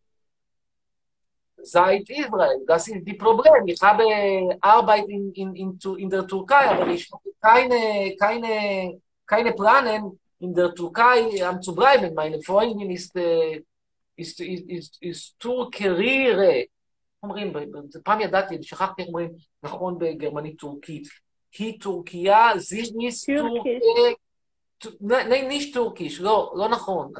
seit Israel. Das ist das Problem. Ich habe Arbeit in, in, in, in der Türkei, aber ich habe keine, keine, keine Pläne, in der Türkei um, zu bleiben. Meine Freundin ist, äh, ist, ist, ist, ist טורקרירה. אומרים, פעם ידעתי, שכחתי איך אומרים נכון בגרמנית טורקית. היא טורקיה, זיניס טורקי, nicht טורקיש, לא, לא נכון.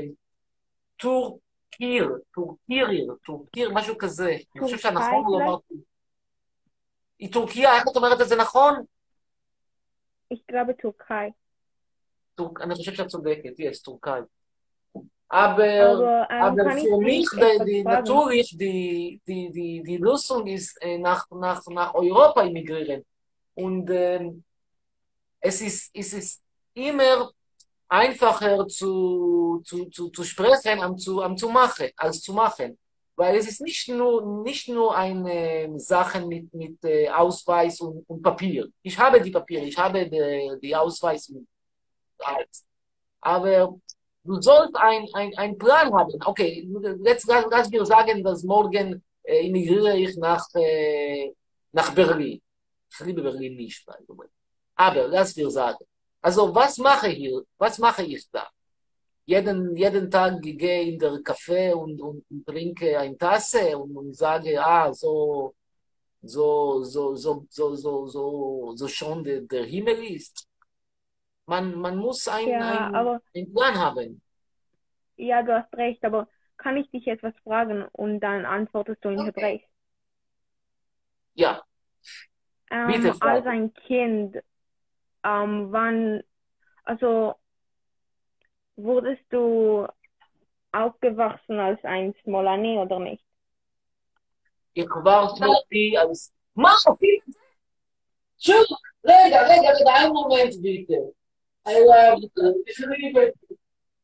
טורקיר, טורקיר, טורקיר, משהו כזה. אני חושב שהנכון הוא לומר... היא טורקיה, איך את אומרת את זה נכון? Ich glaube Türkei. אני חושב שאת צודקת, יש, טורקאי. Aber, aber für mich, die, natürlich, die, die, die, die Lösung ist, äh, nach, nach, nach Europa emigrieren. Und äh, es, ist, es ist immer einfacher zu, zu, zu, zu sprechen, am zu, am zu machen, als zu machen. Weil es ist nicht nur, nicht nur eine Sache mit, mit äh, Ausweis und, und Papier. Ich habe die Papiere, ich habe die, die Ausweis und alles. Aber du sollst ein, ein, ein Plan haben. Okay, jetzt lass mir sagen, dass morgen äh, emigriere ich nach, äh, nach Berlin. Ich liebe Berlin nicht, by the way. Aber lass mir sagen. Also, was mache ich hier? Was mache ich da? Jeden, jeden Tag gehe in der Café und, und, und trinke eine Tasse und, und sage, ah, so, so, so, so, so, so, so, so schon der, der Himmel ist. Man, man muss ein, ja, ein, aber, einen Plan haben. Ja, du hast recht, aber kann ich dich etwas fragen und dann antwortest du in Okay. Hebräisch? Ja. Ähm, Bitte, Frau. als ein Kind, ähm, wann, also wurdest du aufgewachsen als ein Smolani oder nicht? Ich war Smolani als... Mach, Schön! רגע, רגע, רגע, einen Moment bitte. I love you. Ich liebe dich.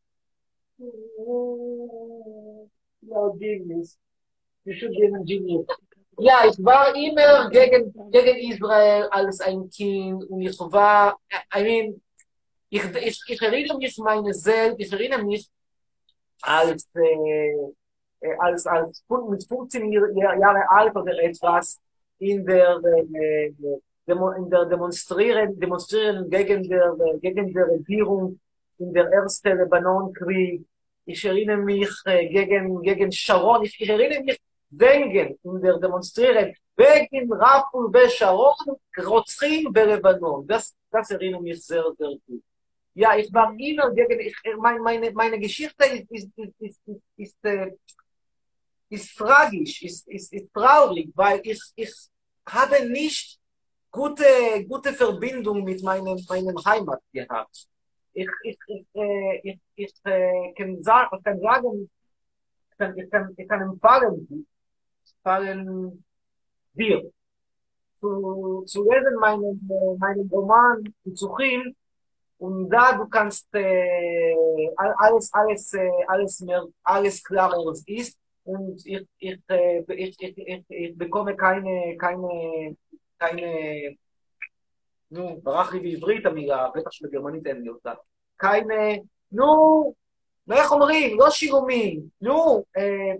No, genius. You should be a genius. Ja, ich war immer gegen, gegen Israel als ein Kind und ich war, I mean, ich, ich, ich erinnere mich meine selbst, ich erinnere mich als, äh, als, als mit fünfzehn Jahre alt oder etwas in der, äh, in der Demonstrieren, Demonstrieren gegen der, gegen die Regierung in der ersten Libanonkrieg. Ich erinnere mich äh, gegen, gegen Sharon, ich, ich erinnere mich wegen in der Demonstrieren wegen Raful Sharon, רוצחים בלבנון. Das, das erinnert mich sehr, sehr gut. Ja, ich war immer gegen, ich, meine, meine, meine Geschichte ist, ist, ist, ist, ist, ist, äh, ist tragisch, ist, ist, ist traurig, weil ich, ich habe nicht gute, gute Verbindung mit meinem, meinem Heimat gehabt. Ich, ich, ich, äh, ich, ich äh, kann, sagen, ich kann sagen, ich kann, ich kann, ich kann empfehlen, empfehlen dir, zu, zu lesen meinen, meinen Roman, Psuchim, und da du kannst äh, alles, alles, äh, alles mehr, alles klarer ist, und ich, ich, äh, ich, ich, ich, ich bekomme keine, keine, keine, נו, ברח לי בעברית המילה, בטח שבגרמנית אין לי אותה. keine, נו, איך אומרים? לא שירומים, נו, אה,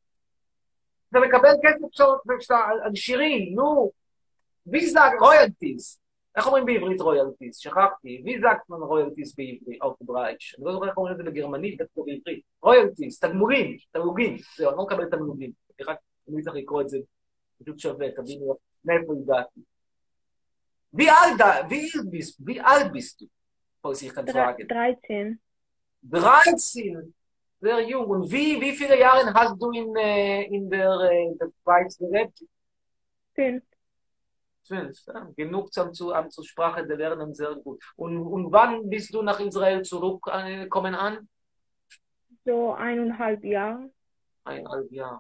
אתה מקבל כסף על שירים, נו, ויזק, רויאלטיז. איך אומרים בעברית רויאלטיז? שכחתי, ויזק רויאלטיז בעברית, או ברייש. אני לא זוכר איך אומרים את זה בגרמנית, בטח בעברית. רויאלטיז, תגמולים, תמלוגים. זהו, אני לא מקבל תמלוגים. רק אני צריך לקרוא את זה, פשוט שווה, תבינו מאיפה הגעתי. Wie alt, da, wie, bist, wie alt bist du? Falls ich kann fragen. dreizehn. dreizehn, sehr jung. Und wie, wie viele Jahre hast du in, äh, in der, äh, der Schweiz gelebt? Fünf. Fünf, ja. Genug zum, zu, um, zur Sprache zu lernen, sehr gut. Und, und wann bist du nach Israel zurückgekommen an? So eineinhalb Jahre. Eineinhalb Jahre.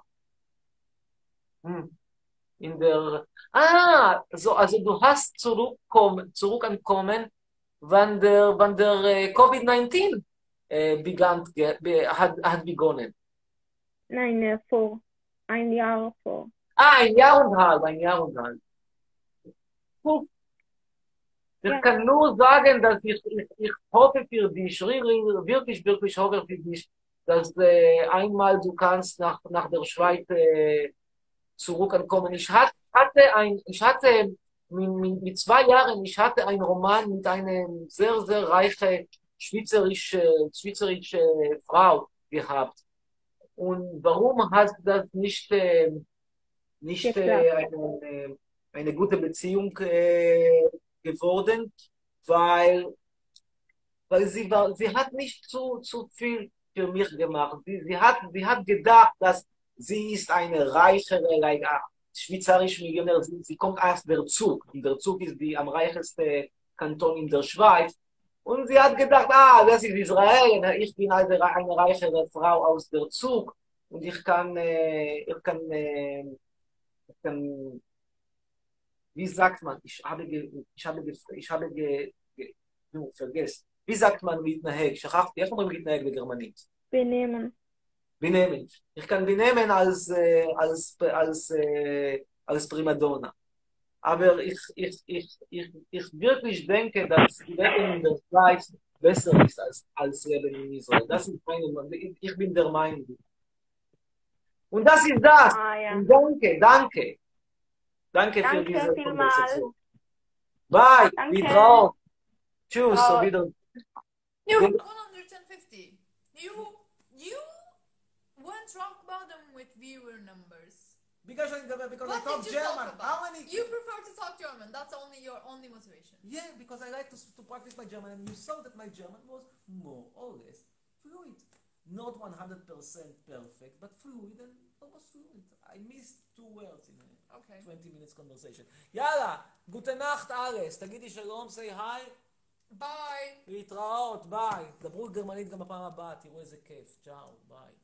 Hm. In der, ah, so, also du hast zurückkommen, zurückgekommen, wann der, wann der äh, Covid neunzehn äh, begann, ge, be, hat, hat begonnen. Nein, äh, vor. Ein Jahr vor. Ah, ein Jahr und halb, ein Jahr und halb. Puh. Ich Ja. kann nur sagen, dass ich, ich, ich hoffe für dich, wirklich, wirklich hoffe für dich, dass äh, einmal du kannst nach, nach der Schweiz äh, zurückkommen. Ich hatte, hatte ein, ich hatte mit, mit, mit zwei Jahren, ich hatte einen Roman mit einer sehr, sehr reichen schweizerische, schweizerische Frau gehabt. Und warum hast du das nicht, äh, nicht äh, eine, eine gute Beziehung äh, geworden? Weil, weil sie war, sie hat nicht zu, zu viel für mich gemacht. Sie, sie hat, sie hat gedacht, dass sie ist eine reichere, like, schweizerische Millionär. Sie, sie kommt aus der Zug. Und der Zug ist die am reichste Kanton in der Schweiz. Und sie hat gedacht, ah, das ist Israel. Ich bin eine, eine reichere Frau aus der Zug. Und ich kann, äh, ich kann, äh, ich kann, wie sagt man, ich habe, ge, ich habe, ge, ich habe, ge, ge, no, vergesst. wie sagt man להתנהג? שכחתי, איך אומרים להתנהג בגרמנית? Benehmen. benehmen. Ich kann benehmen als, äh, als, als, äh, als Primadonna. Aber ich, ich, ich, ich, ich wirklich denke, dass Leben in der Schweiz besser ist als, als Leben in Israel. Das ist meine Meinung. Ich, ich bin der Meinung. Und das ist das. Ah, ja. Und danke, danke. Danke, für Danke diese vielmals. Konversation. Bye. Danke. Wiederhören. Tschüss. Ciao. Auf Wiedersehen. You Good. one hundred fifty. You you went rock bottom with viewer numbers. Because I, because I What talk did you German. talk How about? many? You prefer to talk German. That's only your only motivation. Yeah, because I like to, to practice my German, and you saw that my German was more or less fluid. Not one hundred percent perfect, but fluid and almost fluid. I missed two words in a Okay. twenty minutes conversation. יאללה, גוטה נחת ארס, תגידי שלום, say hi, Bye. להתראות, ביי. דברו גרמנית גם בפעם הבאה, תראו איזה כיף, צ'או, ביי.